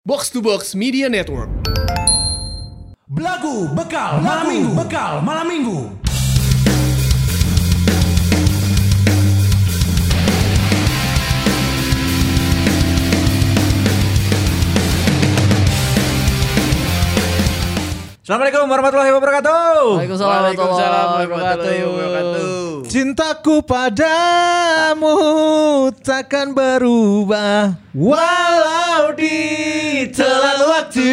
Box to Box Media Network. Belagu bekal malam minggu. Assalamualaikum warahmatullahi wabarakatuh. Waalaikumsalam warahmatullahi wabarakatuh. Cintaku padamu takkan berubah walau ditelan waktu.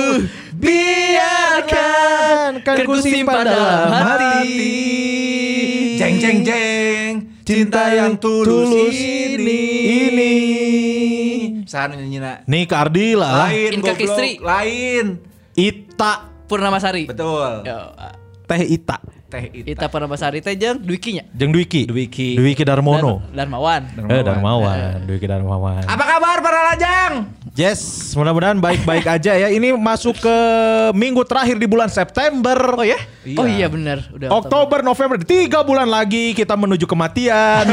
Biarkan kan ku simpan dalam hati. Jeng jeng jeng. Cinta yang tulus ini. Sahan nyanyi. Nih Kak Ardi lah. Lain Inka Kistri. Lain. Ita Purnamasari. Betul. Yo, Teh Ita Teh Ita Purnamasari teh jeung Dwiki-nya. jeung Dwiki Darmono. Darmawan. Darmawan. Dwiki Darmawan. Apa kabar para lajang? Yes, mudah-mudahan baik-baik aja ya. Ini masuk ke minggu terakhir di bulan September. Oh ya? Oh iya benar, udah Oktober, November, 3 bulan lagi kita menuju kematian.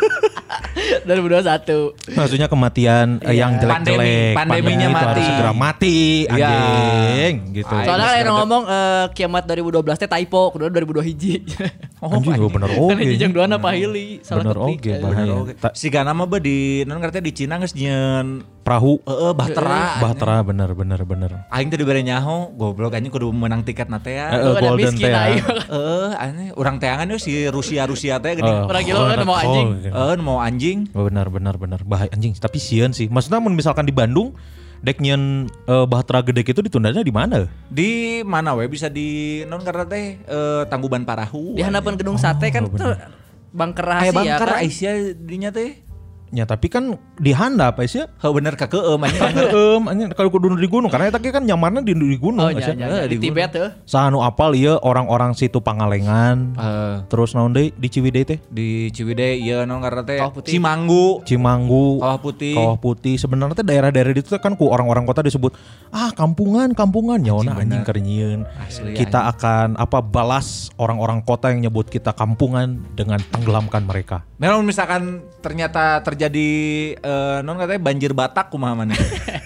2021. Maksudnya kematian yang jelek-jelek. Pandeminya Pandemi itu mati. harus segera mati, anjing. Gitu. Soalnya kan ada ngomong kiamat 2012 teh typo, kedua 2021. Anjing gue bener oge. Kan hiji jeung duana pahili, salah Bener ketik. oge, bahaya. Siga nama be di non ngartnya di Cina geus nyeun Perahu. bahtera. Bener. Aing teh dibere nyaho, goblok anjing kudu menang tiket na teh ya. Golden miskin teh. aing. Aneh urang teangan yo si Rusia teh gini. Orang gila kan mau anjing. Mau anjing. Bener. Bahaya anjing. Tapi sieun sih. Maksudnya misalkan di Bandung dek nyeun bahtera gede itu ditundanya di mana? Di mana we bisa di non karena teh Tangkuban Parahu. Di hadapan gedung sate kan bangker rahasia bangker kan. Aisyah dinya teh. Ya tapi kan di handap sih. Heuh bener kakeueum anjing. Anjing kalau kudu di gunung karena eta kan nyamannya di gunung. Oh iya, di Tibet tuh. Sahanu apal ieu orang-orang situ Pangalengan. Terus naon deui di Ciwidey teh? Di Ciwidey ieu non karena teh Kawah Putih. Cimanggu, Kawah Putih. Kawah Putih. Sebenarnya teh daerah-daerah itu kan ku orang-orang kota disebut kampungan nyaona anjing keur nyieun. Kita akan balas orang-orang kota yang nyebut kita kampungan dengan tenggelamkan mereka. Memang misalkan ternyata terjadi non katanya banjir Batak kumaha maneh.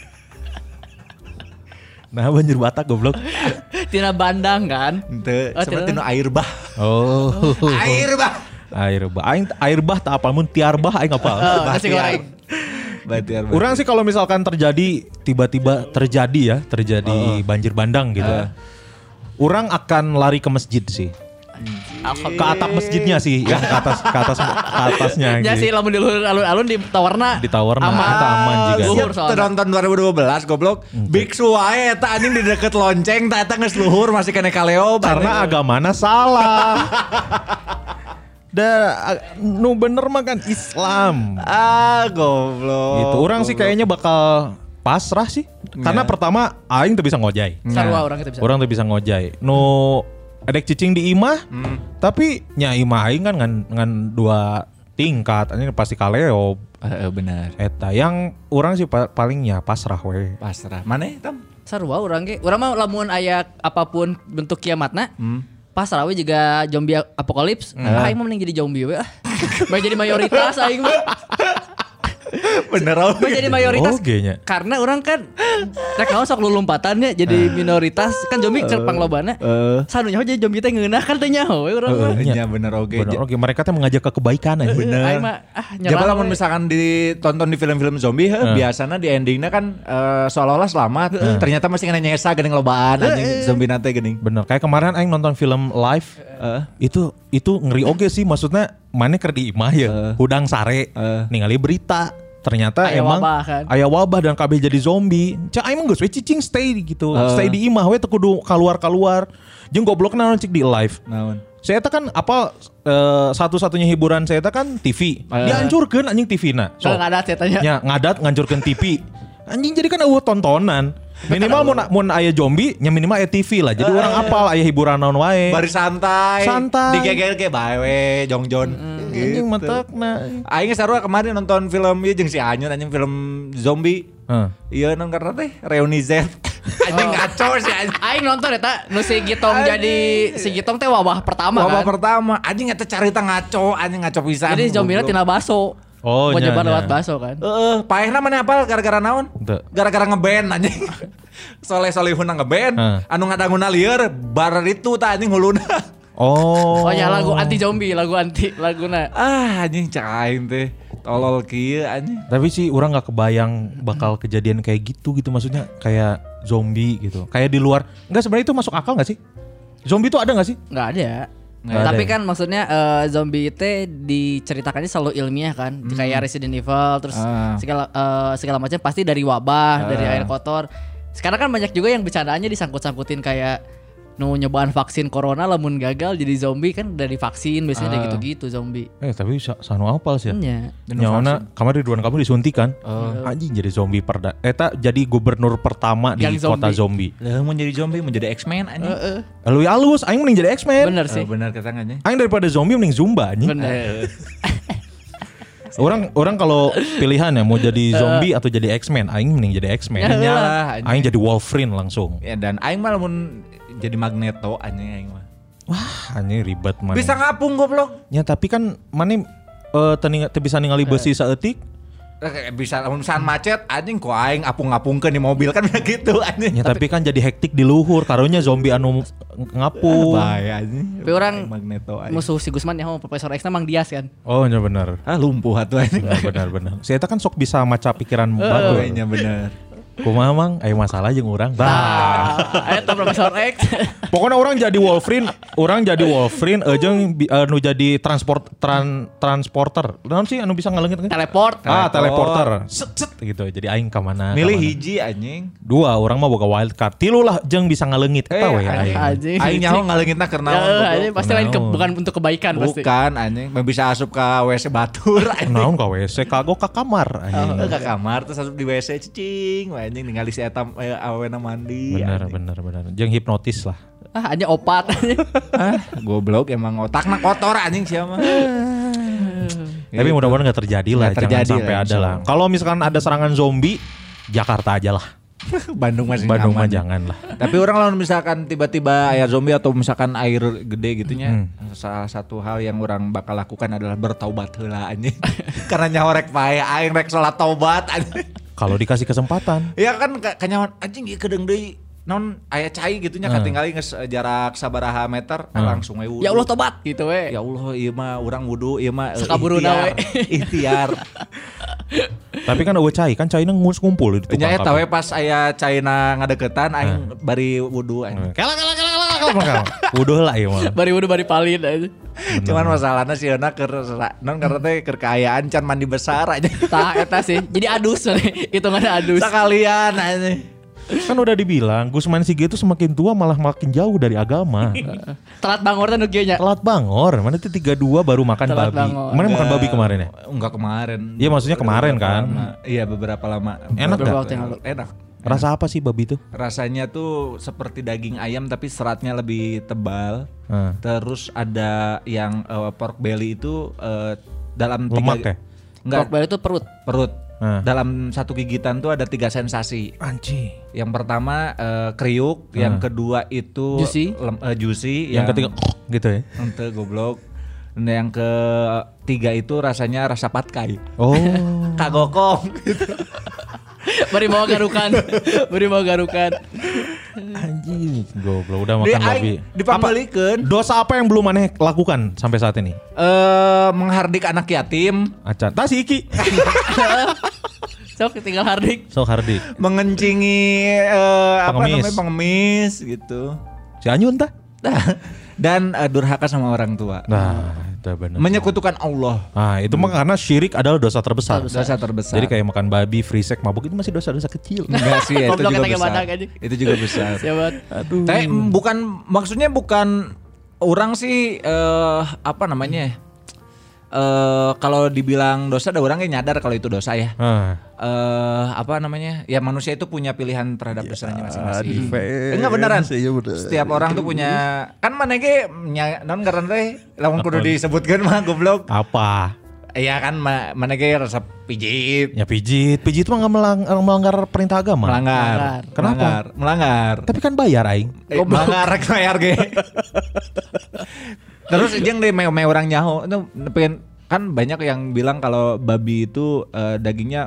Nah banjir Batak goblok. Tina Bandang kan. Henteu, Oh, seperti nu air bah. Oh. Air bah. Air bah tak apal mun tiar bah aing apal. Nasi goreng. Batiar. Urang sih kalau misalkan tiba-tiba terjadi banjir bandang gitu. Urang akan lari ke masjid sih. Ke atap masjidnya sih, yang ke atasnya Ya sih gitu. lamun di luhur alun-alun di tawarna. Eta aman juga. Luhur Teu soalnya. nonton 2012 goblok. Biksu wae eta anjing di deket lonceng eta geus luhur masih kena kaleo Karena agamana salah. Nu bener mah kan Islam. Goblok. Gitu. Orang sih kayaknya bakal pasrah sih. Karena pertama aing teu bisa ngojay. Sarua orang kita bisa. Orang teu bisa ngojay. Nu adek cicing di imah. Tapi nya imah aing kan ngan 2 tingkat. Ini pasti kaleo. Benar. Eta yang orang sih palingnya pasrah we. Pasrah. Maneh Tam? Sarua orang ge. Urang mah lamun aya apapun bentuk kiamatna. Pasrah we juga zombie apokalips. Aing mah mending jadi zombie we. Bae jadi mayoritas aing mah. Bener Bae jadi mayoritas. Ogenya. Karena orang kan rek naon sok lulumpatannya jadi minoritas kan zombie keur panglobana. Sanunya jadi zombie teh ngeunah kan teh nyaho we urang mah. Iya bener oge. Bener, oke mereka teh mengajak ke kebaikan aja. Aing mah Jika lamun misalkan ditonton di film-film zombie, biasanya di endingnya kan seolah-olah selamat, ternyata masih kena nyesa geuning lobaan anjing zombie nate geuning. Bener, kayak kemarin aing nonton film live itu ngeri oge sih, maksudnya mana keur di imah ya, hudang sare, ningali berita. Ternyata Aya emang wabah kan? aya wabah dan kabeh jadi zombie. Cak aing mah geus we cicing stay gitu. Stay di imah we teu kudu kaluar-kaluar. Jeung goblokna naon cik di live. Naon? Saya kan satu-satunya hiburan saya kan TV. Dihancurkeun anjing TV-na. Kalau ngadat ya tanya. Nya ngadat ngancurkeun TV. Anjing jadi kan eueuh tontonan. Minimal mun aya zombie nya minimal aya TV lah. Jadi orang apal aya hiburan naon wae. Bari santai. Santai. Digeger ke bae we jongjon. Anjing mentekna. Aing sarua kemarin nonton film ieu jeung si Anyun anjing film zombie. Iya non karena teh reuni Z. Anjing ngaco sih anjing. Aing nonton eta nu si Gitong jadi si Gitong teh wabah pertama Wabah kan. pertama anjing eta carita ngaco, anjing ngaco pisan. Jadi zombie-na tina baso. Oh, Mau nya, nyoba nya. lewat bakso kan. Paehna mana apal gara-gara naon? Teu. Gara-gara ngeband anjing. Soleh-solehun ngeband, anu ngadanguna lieur bar itu tah anjing huluna. Oh. Oh ya lagu anti zombie, laguna. Anjing cak aing teh. Tolol kieu anjing. Tapi sih orang nggak kebayang bakal kejadian kayak gitu maksudnya kayak zombie gitu. Kayak di luar. Enggak sebenarnya itu masuk akal nggak sih? Zombie itu ada nggak sih? Nggak ada. Nggak Tapi ada kan maksudnya zombie itu diceritakannya selalu ilmiah kan, kayak Resident Evil, terus segala macam pasti dari wabah, dari air kotor. Sekarang kan banyak juga yang bercandaannya disangkut-sangkutin kayak nyobaan vaksin corona lamun gagal jadi zombie kan dari vaksin biasanya dari gitu-gitu zombie. Tapi sanu apal sih. Iya. Nyawana kemarin Ridwan kamu disuntikan. Anjing jadi zombie jadi gubernur pertama di Yang kota zombie. Lah mau jadi zombie, mau jadi X-Men anjing. Lalu alus aing mending jadi X-Men. Bener sih. Bener kata anjing. Aing daripada zombie mending Zumba anjing. Bener. Orang kalau pilihan ya mau jadi zombie atau jadi X-Men, aing mending jadi X-Men. Nyalah Aing jadi Wolverine langsung. Ya dan aing malah mun jadi Magneto anjing aing mah. Wah, anjing ribet man. Bisa ngapung goblok. Ya tapi kan mana teu bisa ningali besi saeutik. Bisa lamun misalkan macet anjing ku aing apung-apungkeun di mobil kan gitu anjing. Ya tapi kan jadi hektik di luhur karunya zombie anu ngapung. Bahaya anjing. Tapi orang Magneto anjing. musuh si Gusman ya Profesor X Mang Dias kan. Oh iya benar. Lumpuh atuh anjing. Benar. Saya kan sok bisa maca pikiran batu. Iya bener. Kumaha mang, aya masalah jeung urang. Eta Profesor X. Pokoknya orang jadi Wolverine jeung anu jadi transporter. Naon sih anu bisa ngaleungit? Teleport. Teleporter. Set gitu. Jadi aing ka mana? Milih hiji anjing. 2 orang mah boga wild card. 3 lah jeung bisa ngaleungit eta we aing. Anjing. Aing nyaho ngaleungitna keur naon? Anjing pasti lain bukan untuk kebaikan pasti. Bukan anjing, bisa asup ke WC batur anjing. Naon ka WC kagok ka kamar anjing. Ke kamar terus asup di WC cicing anjing ningali si eta awena mandi. Bener. Jeung hipnotis lah. Anjing opat. Goblok emang otakna kotor anjing siapa. Tapi mudah-mudahan nggak terjadi lah, Nggak terjadi jangan sampai lah, ada lah. Kalau misalkan ada serangan zombie, Jakarta aja lah. Bandung masih Bandung mah aman. jangan lah. Tapi orang lawan misalkan tiba-tiba air zombie atau misalkan air gede gitunya, salah satu hal yang orang bakal lakukan adalah bertaubat heula anjing. Karena nyawa rek pae aing rek salat taubat anjing. Kalau dikasih kesempatan. Ya kan kanyawan anjing ieu kedeung deui non aya cai gitunya katinggali geus jarak sabaraha meter langsung we wudu. Ya Allah tobat gitu we. Ya Allah ieu mah urang wudu ieu mah Sakaburuna we. ikhtiar. Tapi kan eueuh cai, kan caina ngumpul di tukang Nya eta kafe. we pas aya caina ngadeukeutan aing bari wudu aing. Kala. Wuduh lah ieu mah. Bari wudu bari palin aja. Cuman masalahnya sih euna keur non karena teh keur kaayaan can mandi besar aja. Tah eta sih. Jadi adus hitungannya adus. Sekalian aja. Kan udah dibilang Gusman Sige itu semakin tua malah makin jauh dari agama. Telat bangor teh nu kieu nya. Telat bangor, mana tuh 32 baru makan Telat babi. bangor. Mana makan babi kemarin ya? Enggak kemarin. Iya maksudnya kemarin kan. Iya beberapa lama. Enak Beberapa gak? waktu yang lalu. Enak. Rasa apa sih babi itu? Rasanya tuh seperti daging ayam tapi seratnya lebih tebal. Hmm. Terus ada yang pork belly itu dalam Lemak ya? Enggak, Pork belly itu perut. perut. Nah. Dalam satu gigitan tuh ada 3 sensasi. Anjing. Yang pertama kriuk, yang kedua itu Juicy. juicy, Yang ketiga gitu ya. ente goblok. Dan yang ketiga itu rasanya rasa patkai. Oh. Kagokong gitu. Bari mau garukan. Anjing, goblok udah makan babi. Dipambelikeun. Dosa apa yang belum aneh lakukan sampai saat ini? Menghardik anak yatim, Acan. Tas iki. Sok tinggal hardik. Sok hardik. mengencingi apa Pengemis. namanya pengemis gitu. Si Anyun tah? Dan durhaka sama orang tua. Nah, itu benar. Menyekutukan Allah. Nah, itu mah karena syirik adalah dosa terbesar. Dosa terbesar. Jadi kayak makan babi, free sex, mabuk itu masih dosa-dosa kecil. enggak sih itu Goblok juga katanya besar. badak aja. Itu juga besar. Siabat. Aduh. Tapi maksudnya bukan orang sih apa namanya? Kalau dibilang dosa ada orangnya nyadar kalau itu dosa ya. Apa namanya? Ya manusia itu punya pilihan terhadap dosanya masing-masing. Enggak beneran. Setiap orang tuh punya kan mana ge non karena teh lamun kudu disebutkeun mah goblok. Apa? Iya kan mana ge rasa pijit. Ya pijit mah nggak melanggar perintah agama. Melanggar. Kenapa? Melanggar. Tapi kan bayar aing. Melanggar rek bayar ge. Terus jeung deui me orang nyaho itu pengen Kan banyak yang bilang kalau babi itu dagingnya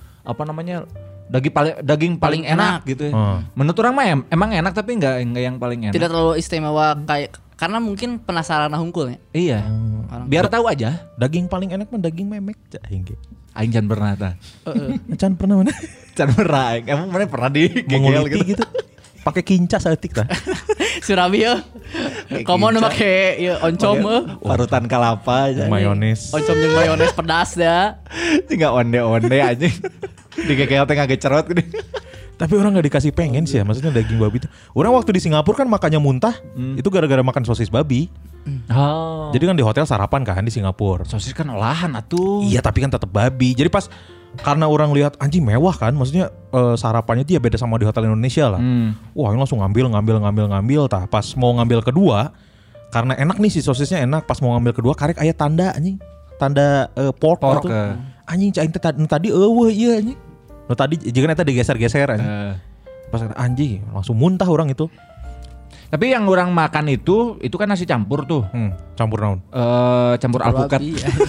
daging paling enak gitu ya. Menurut orang mah emang enak tapi enggak yang paling enak. Tidak terlalu istimewa karena mungkin penasaran hungkulnya. Iya. Biar tahu aja. Daging paling enak mah daging memek Aing can pernah tah. Can pernah mana? Can pernah. Emang mana pernah di menguliti gitu. Pakai kinca saeutik tah. Surabaya. Komo nu make oncom parutan kelapa aja. Mayones. Oncom jeung mayones pedas dah. Tinggal onde-onde anjing. Dikekel teh ngagecerot gede. Tapi orang gak dikasih pengen sih ya, maksudnya daging babi itu. Orang waktu di Singapura kan makannya muntah, itu gara-gara makan sosis babi. Oh. Jadi kan di hotel sarapan kan di Singapura. Sosis kan olahan atuh. Iya tapi kan tetap babi. Jadi pas karena orang lihat anjing mewah kan, maksudnya sarapannya dia beda sama di hotel Indonesia lah. Wah ini langsung ngambil. Tah pas mau ngambil kedua, karena enak nih si sosisnya enak. Pas mau ngambil kedua karek aya tanda anjing, tanda pork gitu. Anjing cain tadi iya anjing. No tadi jika eta digeser-geser anjing. Pas anjing langsung muntah orang itu. Tapi yang orang makan itu kan nasi campur tuh. Campur naon? Campur alpukat.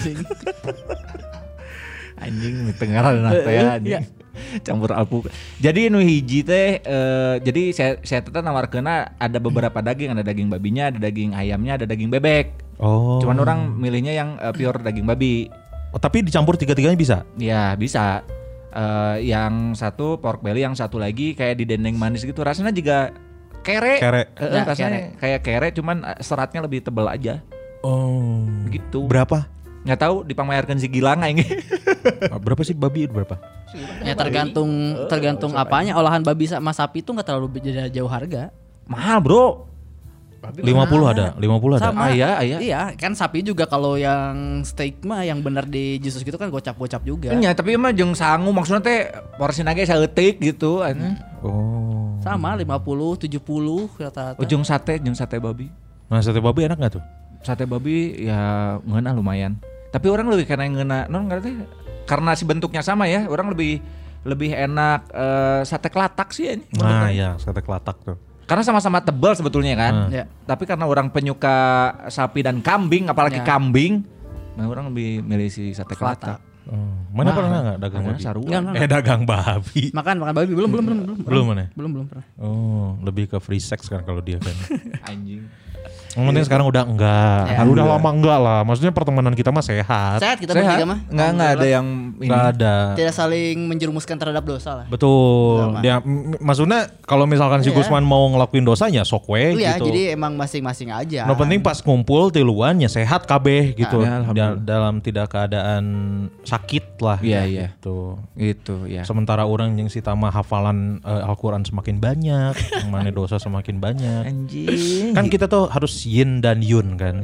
Anjing tengaran ya anjing. Campur alpukat. Jadi nu hiji teh jadi saya teteh nawarkeunna ada beberapa daging, ada daging babinya, ada daging ayamnya, ada daging bebek. Oh. Cuman orang milihnya yang pure daging babi. Oh, tapi dicampur tiga-tiganya bisa? Ya, bisa. Yang satu pork belly, yang satu lagi kayak didendeng manis gitu. Rasanya juga kere. Rasanya kayak kere, cuman seratnya lebih tebal aja. Oh. Gitu. Berapa? Nggak tahu, dipamerkeun si Gilang ini. Berapa sih babi itu berapa? Ya tergantung apanya. Olahan babi sama sapi itu nggak terlalu beda jauh harga. Mahal bro. 50 ada. Sama. Iya, kan sapi juga kalau yang steak mah yang bener di Jesus gitu kan gocap-gocap juga. Iya, tapi emang jeung sangu maksudnya teh porsina ge saeutik gitu. Oh. Sama 50, 70 rata-rata. Jeung sate babi. Nah, sate babi enak enggak tuh? Sate babi ya ngeunah lumayan. Tapi orang lebih karena ngeunah karena si bentuknya sama ya, orang lebih enak sate kelatak sih ini. Nah, iya, sate kelatak tuh. Karena sama-sama tebal sebetulnya kan. Ya. Tapi karena orang penyuka sapi dan kambing, apalagi kambing, nah orang lebih milih si sate kelatak. Mana pernah enggak dagang babi? Dagang babi. Makan babi belum. Belum mana? Belum pernah. Oh, lebih ke free sex kan kalau dia kan. Anjing. Yang penting sekarang udah enggak. Ya, udah lama enggak lah. Maksudnya pertemanan kita mah sehat. Sehat kita bertiga mah. Enggak ada yang ini. Enggak ada. Tidak saling menjerumuskan terhadap dosa lah. Betul. Dia maksudnya kalau misalkan si Gusman mau ngelakuin dosanya sok we gitu. Iya, jadi emang masing-masing aja. No penting pas ngumpul tiluan ya sehat kabeh gitu. Dalam tidak keadaan sakit lah. Iya. Gitu. Itu ya. Sementara orang yang si Tama hafalan Al-Qur'an semakin banyak, yang mana dosa semakin banyak. Anjing. Kan kita tuh harus yin dan yun kan.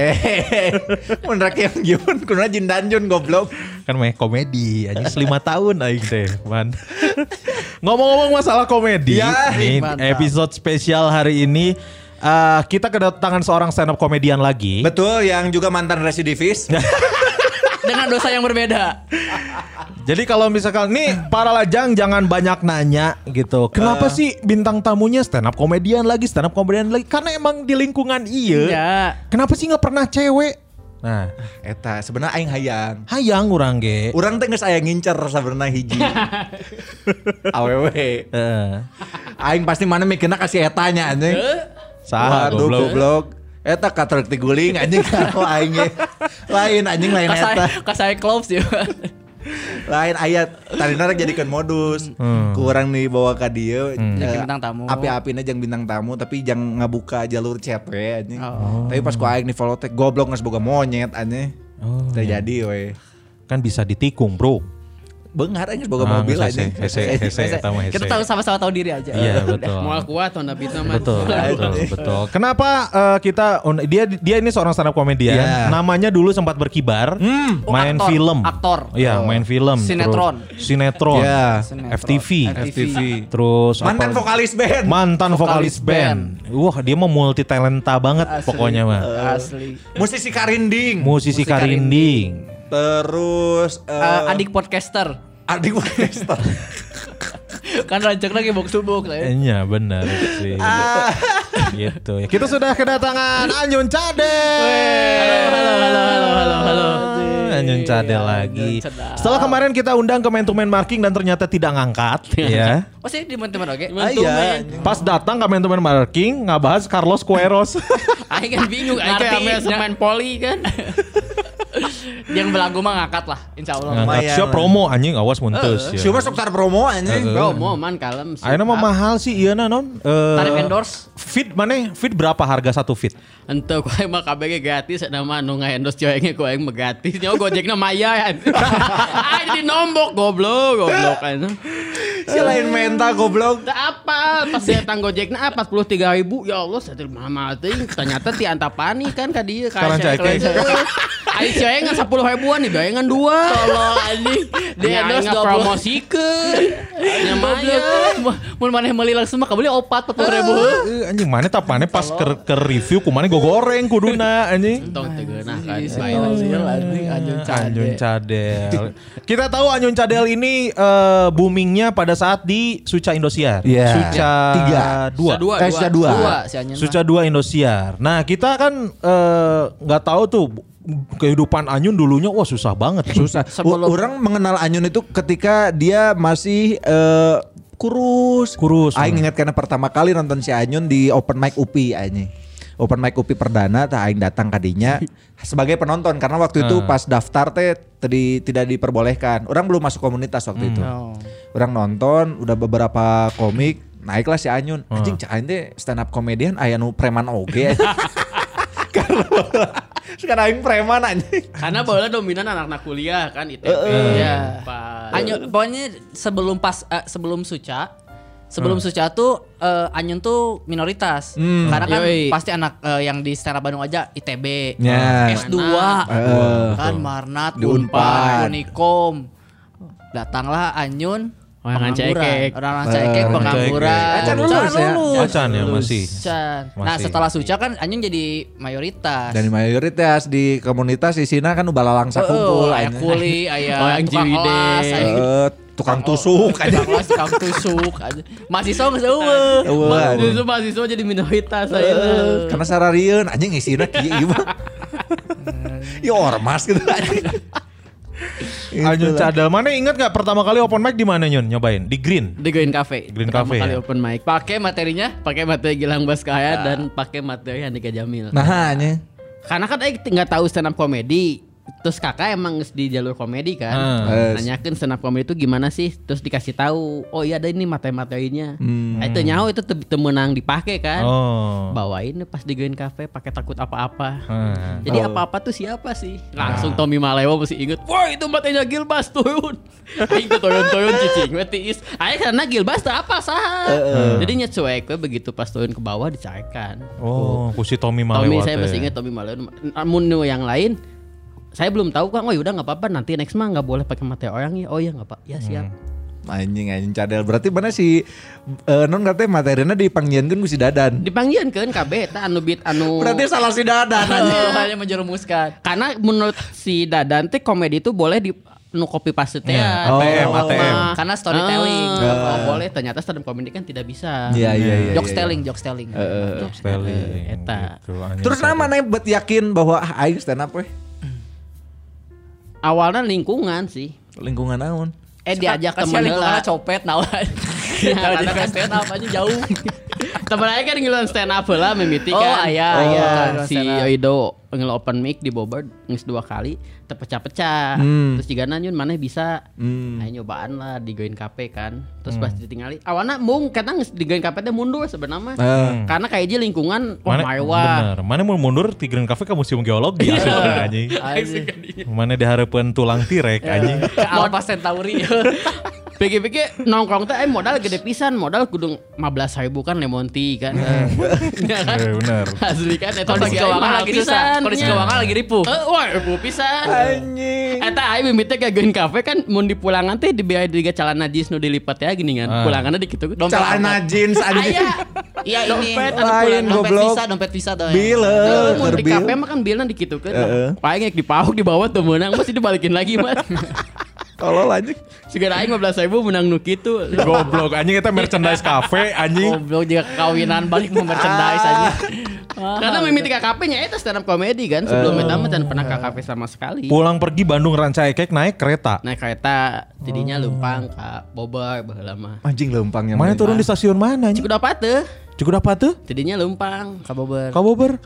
Menrak yang yun, kuna jin dan yun goblok. Kan mah komedi, aja 5 tahun aing teh, man. Ngomong-ngomong masalah komedi, nih, episode spesial hari ini kita kedatangan seorang stand up komedian lagi. Betul, yang juga mantan residivis. Dengan dosa yang berbeda. Jadi kalau misalkan nih para lajang jangan banyak nanya gitu. Kenapa sih bintang tamunya stand up komedian lagi? Karena emang di lingkungan iya. Kenapa sih nggak pernah cewek? Nah, eta sebenarnya aing hayang urang ge. Urang teh geus aya ngincer sabenerna hiji. Awewe. Aing pasti mana mikirna kasih etanya anjing. Saha goblok. Eta katrek tiguling anjing kalau aing ge. Lain eta. Kasai close ya. Lain ayat tarina jadikeun modus. Kurang nih bawa ka dieu bintang tamu. Api-apina jeung bintang tamu tapi jangan ngabuka jalur chat we anjing. Tapi pas ku aing di follow teh goblok geus boga monyet anjing. Terjadi we. Kan bisa ditikung, Bro. Beunghar aing geus boga mobil anjing. Hese. Kita tahu sama-sama tahu diri aja. Iya, betul. Moal kuat onda bitna mah. Betul. Kenapa kita dia ini seorang stand up komedian. Yeah. Namanya dulu sempat berkibar. Main film. Aktor. Iya, main film. Sinetron. Yeah. FTV. Terus mantan vokalis band. Wah, dia mah multi talenta banget pokoknya mah. Asli. Musisi karinding. Terus adik podcaster. Kan rancak lagi box to box lah ya. Iya benar sih. Gitu ya. Kita sudah kedatangan Anyun Cadel. Halo. Anyun Cadel lagi. Setelah kemarin kita undang ke Man to Man Marking dan ternyata tidak ngangkat ya. Oh sih di teman-teman oke. Iya. Pas datang ke Man to Man Marking ngabahas Carlos Queiroz. Aing kan bingung arti semen poli kan. Yang belagu mah ngangkat lah insyaallah. Ngangkat siapa promo anjing awas muntes ya. Siapa sok tar promo anjing. Promo man kalem. Ayeuna mah mahal sih ieu na non. Tarif endorse. Feed mana? Feed berapa harga satu feed? Ente ku aing mah kabeh gratis nama anu ngaendorse ceweknya ku aing mah gratis. Nyawa Gojekna maya. Aing di nombok goblok kan. Si lain menta goblok. Tak apa pas datang Gojekna 43.000 ya Allah satir mah teuing ternyata ti antapani kan ka dieu ka Sekarang cek. Aing cewek ngan 10 ribuan nih bayangan 2. Tolong anjing. Dia endorse promosikeun. Nya maya. Mun maneh meuli langsung mah kabeli 40.000. Anjing mana tak mana pas ke review ku mana goreng kuduna anjing. Tong teu geunah kan. Anyun Cadel. Kita tahu Anyun Cadel ini boomingnya pada saat di Suca Indosiar. Iya. Suca 2. Suca 2. Si Anyun. Suca 2 Indosiar. Nah kita kan nggak tahu tuh kehidupan Anyun dulunya wah susah banget. Susah. Orang mengenal Anyun itu ketika dia masih kurus. Aing ingat karena pertama kali nonton si Anyun di open mic UPI anjing. Open mic UPI perdana tah aing datang kadinya sebagai penonton karena waktu itu pas daftar teh tidak diperbolehkan. Orang belum masuk komunitas waktu itu. Orang nonton udah beberapa komik naiklah si Anyun. Anjing cak aing teh stand up comedian aya nu preman oge. Sekarang aing preman anjing. Karena bola dominan anak-anak kuliah kan ITB. Ya. Anyun pokoknya sebelum Suca tuh Anyun tuh minoritas. Karena kan pasti anak yang di stand up Bandung aja ITB, S2, kan Marnat, Unpad, Unikom. Datanglah Anyun orang cekek pengangguran. Acan lulus ya. Acan ya masih. Nah setelah Suca kan Anyun jadi mayoritas. Dan mayoritas di komunitas isina kan balalang sakumpul. Aya kuli, aya tukang kelas, tukang tusuk aja. Tukang tusuk aja. Mahasiswa geus eueuh. Justru mahasiswa jadi minoritas ayeuna. Karena sararieun anjing isina kieu mah. Ya ormas gitu anjing. Anyun Cadel mana ingat gak pertama kali open mic di mana Nyun nyobain? Di Green Cafe. Pertama kali open mic. Pakai materi Gilang Baskaya dan pakai materi Andika Jamil. Nah anjing. Karena kan aing enggak tahu stand up comedy. Terus kakak emang di jalur komedi kan. Nanyakan stand up comedy itu gimana sih? Terus dikasih tahu, oh iya ada ini materi-materinya. Itu nyaho itu temenang dipakai kan. Bawain pas di Green Cafe pakai takut apa-apa. Jadi apa-apa tuh siapa sih? Langsung Tommy Malewo mesti inget. Wah itu materinya Gilbas turun. Aing tuh turun cicing tiis. Aing karena Gilbas tuh apa sah. Jadi nyecuek begitu pas turun ke bawah dicarikan. Oh, ku si Tommy Malewo. Saya masih inget Tommy Malewo. Namun yang lain saya belum tahu kan. Oh yaudah nggak apa-apa nanti next mah nggak boleh pakai materi orang ya. Oh ya nggak pak. Ya siap. Anjing Cadel berarti mana si non katanya materina dipanggiankeun ku si Dadan. Dipanggiankeun KB eta anu beat anu. Berarti salah si Dadan anjing. Hanya menjerumuskan. Karena menurut si Dadan teh komedi itu boleh di nu copy paste teh. ATM. Karena storytelling. Boleh ternyata stand up comedy kan tidak bisa. Iya. Jokes telling. Eta. Terus namanya buat yakin bahwa aing stand up weh. Awalnya lingkungan sih. Lingkungan naon? Diajak temen lah copet nawan. Karena kan stand up aja jauh. Temen aja kan ngiluan stand up lah mimiti kan. Si Yoido ngil open mic di Bogor ngis 2 kali terpecah-pecah. Terus juga Nyun maneh bisa. Ayo nyobaan lah di Green Cafe kan. Terus pas ditinggali awalnya mung kata ngis di Green Cafe teh mundur sebenarnya. Karena kayak aja lingkungan bener. Mana mau mundur di Green Cafe ke museum geologi anjing. Mana dihareupeun tulang tirek anjing. Alpha Centauri. Pikir-pikir nongkrong teh modal gede pisan, modal kudu 15.000 kan lemon tea kan. Bener. Asli kan eta kondisi keuangan lagi susah. Kondisi keuangan lagi ripuh. Wah, ripuh pisan. Anjing. Eta aing mimiti ke Green Cafe kan mun di pulangan teh dibiaya diga celana jeans nu dilipat ya gini kan. Pulanganna di kitu. Celana jeans anjing. Iya ini dompet visa tuh. Bila di kafe mah kan bilna dikitukeun. Paling ngek dipauk di bawah tuh menang masih dibalikin lagi mah. Tolol anjing. Segera aing 15.000 menang nu kitu. Goblok anjing eta merchandise cafe anjing. Goblok juga kawinan balik mau merchandise anjing. Karena mimiti KKP nya eta stand up comedy kan. Sebelum eta mah pernah KKP sama sekali. Pulang pergi Bandung Ranca Ekek naik kereta. Naik kereta tidinya lempang ka Bogor baheula mah. Anjing lempangnya. Mana turun di stasiun mana anjing? Cukup dapat teh. Cukup apa tuh? Tidinya lempang ka Bogor. Kabober.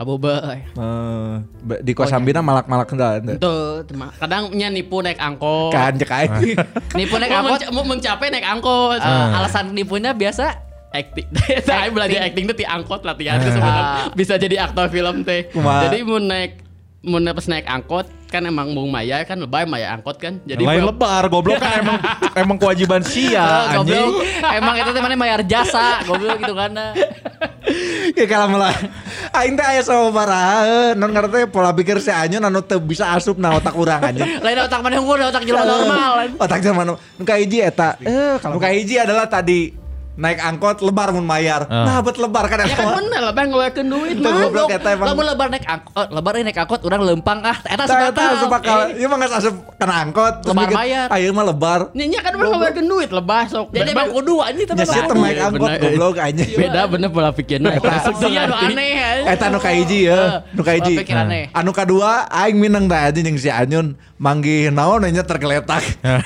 Di Kosambina malak-malak hendak. Tuh, kadang nya nipu naik angkot. Kan cek aing. Nipu naik angkot mau mencapai naik angkot. Alasan nipunya biasa acting. Saya belajar acting tuh di angkot latihan tuh sebenarnya bisa jadi aktor film teh. Jadi mau pas naik angkot kan emang Bung Maya kan lebay Maya angkot kan. Jadi lain lebar goblok kan emang kewajiban sia anjing. Emang itu teh mana bayar jasa goblok gitu kan. Ya kalau malah aing teh aya sababaraha non ngarana teh pola pikir si Anyun anu teu bisa asup na otak urang anjing. Lain otak mana unggul otak jelema normal. Otak jelema nu kahiji eta. Nu kahiji adalah tadi naik angkot lebar mun mayar. Nah, bet lebar kan ya kan bener lebar ngeluarkeun duit mah. Goblok eta emang. Lamun lebar naik angkot, lebar naik angkot urang lempang eta sebakal. Ieu mah geus asup kana angkot lebar bayar. Ayeuna mah lebar. Nya kan urang ngeluarkeun duit lebah sok. Jadi emang kudu anjing teh. Nya sih naik angkot goblok anjing. Beda bener pola pikirna eta. Sia nu aneh. Eta nu kahiji ya, nu kahiji. Anu kadua aing mineng da anjing jeung si Anyun manggih naon nya tergeletak.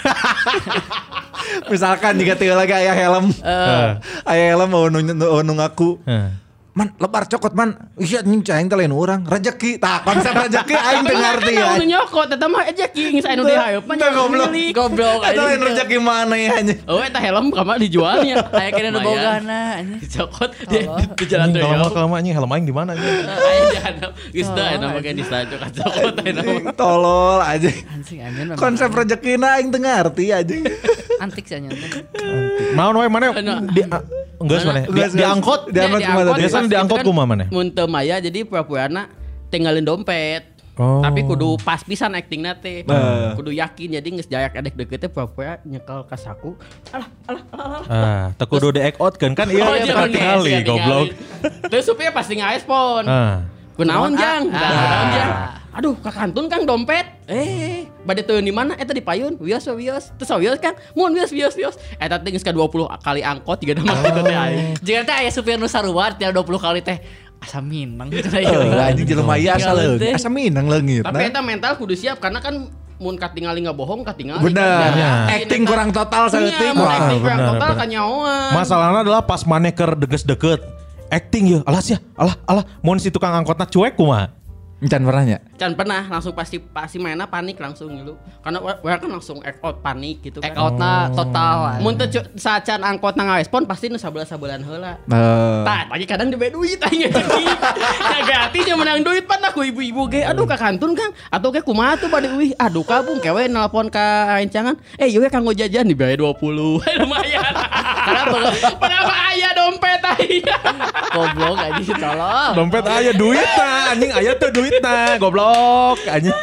Misalkan jika teu lagi aya helm. Aya helm mau ngaku. Man lebar cokot man. Iya anjing aing teh lain urang. Rezeki. Tah konsep rezeki aing teu ngarti ya. Anu nyokot eta mah rezeki geus anu dihayeup mah goblok. Eta lain rezeki mana ya anjing. Oh eta helm kamar dijualnya. Aya kene nu bogana anjing. Cokot di jalan raya. Kalau anjing helm aing di mana anjing? Aya di handap. Geus teu aya mah geus disajo ka cokot aya mah. Tolol anjing. Anjing konsep rezekina aing teu ngarti anjing. Antik sih anjing. Naon we mana enggak sebenarnya diangkot biasanya diangkot kumaha maneh mun teu maya jadi pura-purana tinggalin dompet. Tapi kudu pas pisan actingna teh. Kudu yakin jadi geus jayak edek deket teh pura-pura nyekel ka saku. Alah. Teu kudu di act out kan ieu kali goblok. Terus supaya pasti ngarespon. Kunaon jang? Aduh, kakantun Kang dompet. Bade teu di mana? Eta di payun. Wios. Terus wios Kang. Mun wios. Eta teh geus ka 20 kali angkot 3 damang kitu teh aing. Jika teh aya supir nu saruar tiap 20 kali teh asa minang gitu teh. Anjing jelema ieu asa leungit. Asa minang leungit. Tapi eta mental kudu siap karena kan mun katingali ngabohong katingali. Bener. Acting kurang total saeutik. Acting kurang total kanyaoan. Masalahna adalah pas maneh keur deges-deket. Acting ya, alah, mun si tukang angkotna cuek kumaha? Can pernahnya? Can pernah, langsung pasti mainnya panik langsung gitu. Karena orang kan langsung act out panik gitu kan. Act outna total. Mun teu saat can angkotna ngarespon pasti nu sabeula-sabelan heula. Tah, lagi kadang diberi duit aing ngeucing. Jaga hatinya menang duit pan aku ibu-ibu ge. Aduh kakantun Kang, atuh ge kumaha tuh bade euy. Aduh kabung kewe nelpon ka rencangan. Yeuh kanggo jajan dibere 20. Lumayan. Kenapa aya dompet aing? Goblok anjing tolong. Dompet aya duitna, anjing aya teh duitna, goblok anjing.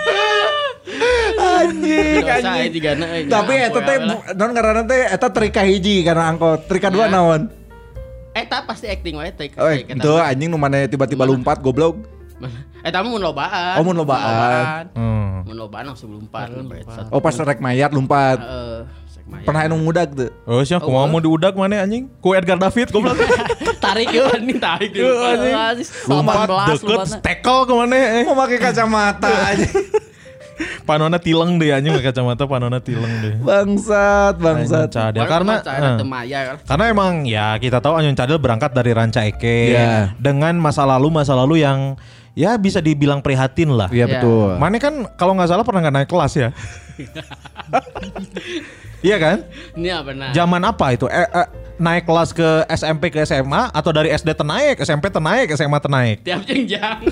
Anjing. Tapi eta teh non karena teh eta trik kahiji karena angkot. Trik kedua naon? Eta pasti acting wae teh. Itu anjing nu mana tiba-tiba lompat goblok. Eta mun lobaan. Oh mun lobaan. Mun lobaan langsung lompat. Oh pas rek mayat lompat. Pernah anu ngudag tuh. Oh sia kumaha mau diudag mana anjing? Ku Edgar David goblok. Tarik yeuh anjing tarik yeuh. Lompat deket tackle ke mana? Mau pakai kacamata anjing. Panona tileng deh anjing pakai kacamata panona tileng deh. Bangsat. Cadel karena emang ya kita tahu Anyun Cadel berangkat dari Ranca Ekek dengan masa lalu yang ya bisa dibilang prihatin lah. Iya betul. Mana kan kalau nggak salah pernah nggak naik kelas ya? Iya kan? Iya benar. Zaman apa itu? Naik kelas ke SMP ke SMA atau dari SD tenaik, SMP tenaik, SMA tenaik? Tiap jenjang.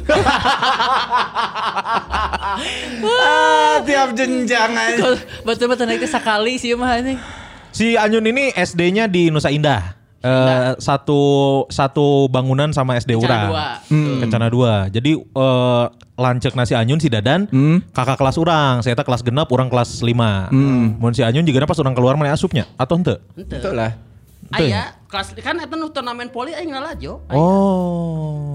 Tiap jenjang aja. Betul-betul naik sekali sih mah ini. Si Anyun ini SD-nya di Nusa Indah. Satu bangunan sama SD urang. Kencana 2. Jadi lancek nasi Anyun si Dadan kakak kelas urang, saya kelas genap, urang kelas 5. Mun si Anyun juga pas urang keluar mana asupnya atau henteu? Henteu lah. Aya kelas kan eta nu turnamen poli aing ngalajo. Oh. Aya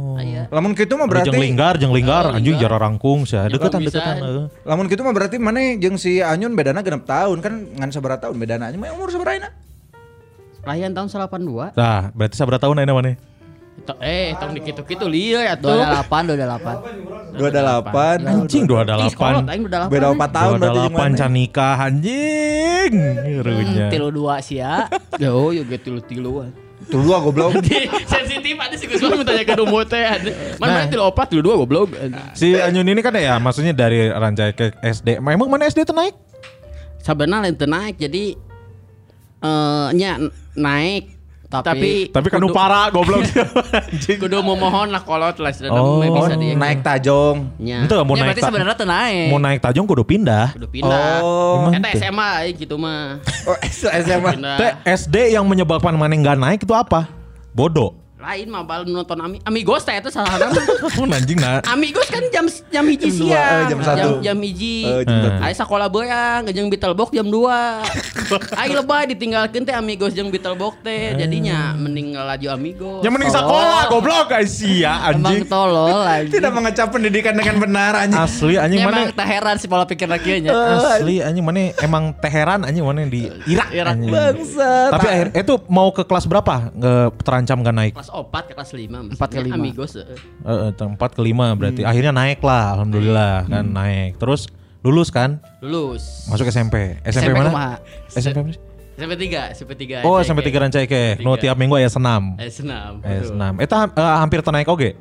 Lamun kitu mah berarti jeung linggar anjing jara rangkung sih. Deketan. Lamun kitu mah berarti maneh jeung si Anyun bedana 6 tahun kan ngan sabaraha tahun bedana anjing mah umur sabaraha ayeuna? Layan tahun 82. Nah, berarti sabaraha tahun ayeuna maneh? Tong dikitu-kitu lieu atuh. 28. Anjing 28. Beda 4 tahun berarti 28 can nikah anjing. Runya. 32 sia. Oh, yo ge 3-3-an. Tuh dua goblok. Sensitif ada sih Gusman minta ke umur teh. Mana 3-4 3-2 goblok. Si Anyun ini kan ya maksudnya dari Rancai ke SD. Emang mana SD teh naik? Sabenerna lain teu naik jadi nya naik tapi kan nu para goblok. kudu memohon lah kolot lah Oh, bisa di Naik tajong. nya. Itu mau Ya naik berarti sebenarnya teu naik. mau naik tajong kudu pindah. Kudu pindah. Oh. Eta SMA gitu mah. Oh, SMA. Pindah. Teh SD yang menyebabkan mana enggak naik itu apa? Bodoh. Lain mah bal nonton Amigos teh itu salah nama. Anjing nah. Amigos kan jam hiji Jam 2, siang. jam 1. Jam hiji. Jam 1. Aya sakola beuyang jeung Beetlebox jam 2. Ai lebay ditinggalkeun teh Amigos jeung Beetlebox teh. Jadinya mending laju Amigos. Yang mending sekolah goblok guys ya Emang anjing. tolol anjing. Tidak mengecap pendidikan dengan benar anjing. Asli anjing Emang mana? tak heran sih pola pikir kieu nya. Asli anjing mana emang Teheran anjing mana di Irak anjing. Bangsat. Tapi akhir itu mau ke kelas berapa? Terancam gak naik? Kelas 4 ke kelas 5. 4 ke 5. Amigos. 4 ke 5 berarti akhirnya naik lah alhamdulillah kan naik. Terus lulus kan? Lulus. Masuk SMP. SMP mana? kumaha? SMP mana? SMP 3. Oh SMP 3 Rancai ke. No tiap minggu aya senam. Senam. Senam. Eta hampir naik oge.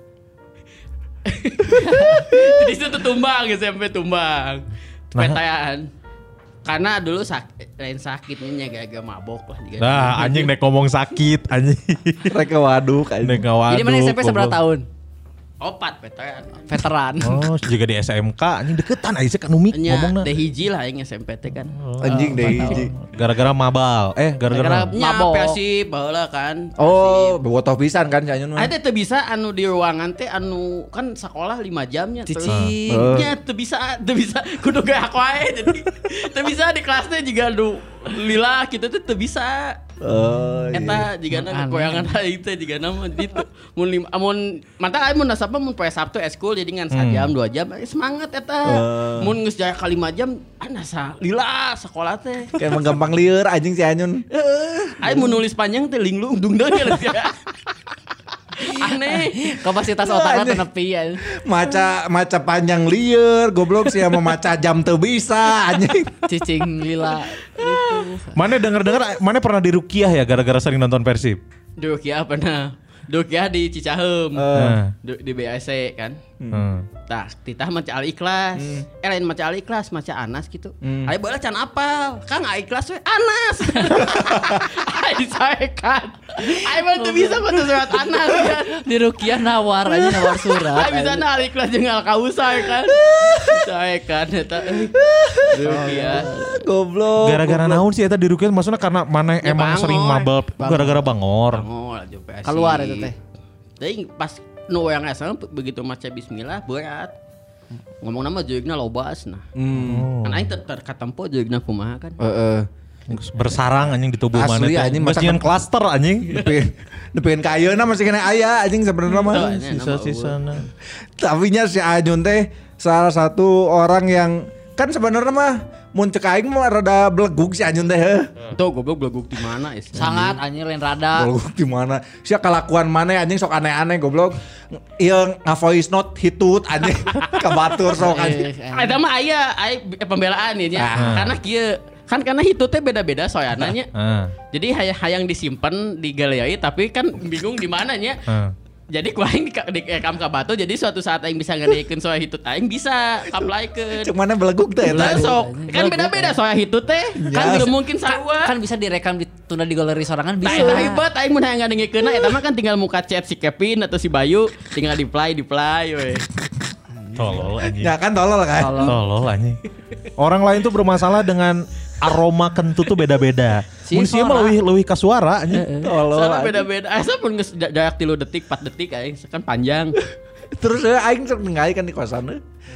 Jadi itu tumbang SMP tumbang. Nah. Petayaan. Karena dulu lain sakitnya agak mabok lah. Nah anjing nek ngomong sakit anjing. Mereka waduk anjing. Nek ngawaduk. Jadi mana SMP seberapa tahun? 4 petayaan. Veteran. Oh juga di SMK anjing deketan aja kan Umi ngomongna. Deh hiji lah yang SMP teh kan. Anjing deh hiji. Gara-gara mabal. Gara-gara Nya mabok. Persib baheula kan. Oh, botoh pisan kan si Anyun mah. Ada teu bisa anu di ruangan teh anu kan sekolah 5 jamnya terus. Cicing. Nya teu bisa kudu ge aku ae jadi teu bisa di kelasnya juga aduh lila kita tuh teu bisa. Oh, Eta jigana goyangan hari teh jigana mah ditu. Mun mantap aya mun nasabna mun poe Sabtu eskul jadi ngan 1 jam 2 jam semangat eta. Mun geus jaya ka 5 jam nasa lila sekolah teh. Kayak menggampang lieur anjing si Anyun. Aya mun nulis panjang teh linglung dung deui aneh. Kapasitas otaknya tenepi ya. Maca panjang lieur, goblok sih sama maca jam teu bisa anjing. Cicing lila. Mana dengar-dengar mana pernah dirukiah ya gara-gara sering nonton Persib? Dukiah pernah. Dukiah di Cicaheum. Di BAC kan. Tah, titah maca al-ikhlas. Lain maca al-ikhlas, maca Anas gitu. Aya baheula can apal. Kang al-ikhlas we Anas. Ai saekan. Ai mah teu bisa maca surat Anas kan. Di Rukiah nawar aja nawar surat. Ai bisa na al-ikhlas jeung al-kausar kan. Saekan eta. Rukiah. Goblok. Gara-gara naon sih eta dirukiah maksudnya karena mana emang bangor. sering mabal gara-gara bangor. Oh, aja PSI. Keluar itu teh. Tapi pas nu yang asal begitu maca bismillah berat. Ngomong nama jeugna lobas nah. Kan aing terkatempo jeugna kumaha kan. Bersarang anjing di tubuh mana Asli, teh. anjing, Geus nyieun klaster anjing. Nepikeun ka ayeuna masih kena aya anjing sebenarnya mah. Sisa-sisana. Tapi nya si Anyun teh salah satu orang yang kan sebenarnya mah mun cek aing mah rada belegug si Anyun teh. Tuh goblok beleguk di mana is. Sangat anjing lain rada. Belegug di mana? Sia kelakuan mana anjing sok aneh-aneh goblok. Ieu nga-voice note hitut anjing ka batur sok anjing. Ada mah aya pembelaan ya nya. Karena kieu kan karena itu teh beda-beda soalnya nya. Jadi hayang disimpan di galeri tapi kan bingung di mana nya. Jadi ku aing direkam ka batu jadi suatu saat aing bisa ngadeikeun soal hitut aing bisa apply-keun. Cuk mana belegug teh eta. Sok kan beda-beda soal hitut teh kan tidak mungkin sarua. Kan bisa direkam ditunda di galeri sorangan bisa. Nah itu hebat aing mun hayang ngadengikeunna eta mah kan tinggal muka chat si Kevin atau si Bayu tinggal di-play we. Tolol anjing. Ya kan tolol kan. Tolol anjing. Orang lain tuh bermasalah dengan aroma kentut tuh beda-beda. Mun sieun mah leuwih ka suara anjing. Soalnya beda-beda. Asa pun geus jarak 3 detik, 4 detik aing kan panjang. Terus aing sok ningali kan di kosan.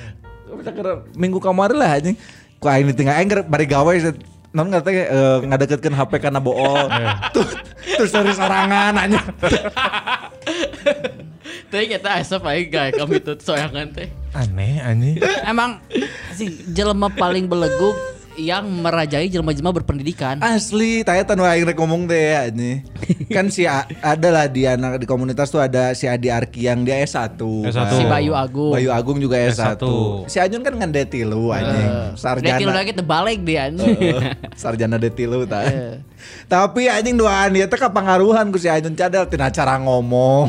Minggu kemarin lah anjing. Ku aing ditinggal aing bari gawe non ngerti ngadeketkeun HP kana bool. Terus dari sorangan anjing. Teh kita asap aja guys kami tuh soyangan teh. Aneh. Emang si jelema paling beleguk yang merajai jelema-jelema berpendidikan. Asli, tanya tan aing rek ngomong teh ya ini. Kan ada lah di anak di komunitas tuh ada si Adi Arki yang dia S1. S1. Si Bayu Agung. Bayu Agung juga S1. S1. Si Anyun kan D3 anjing. Sarjana. D3 lagi terbalik dia anjing. Sarjana D3 tah. Tapi anjing doaan dia teh kapangaruhan ku si Anyun cadel tina cara ngomong.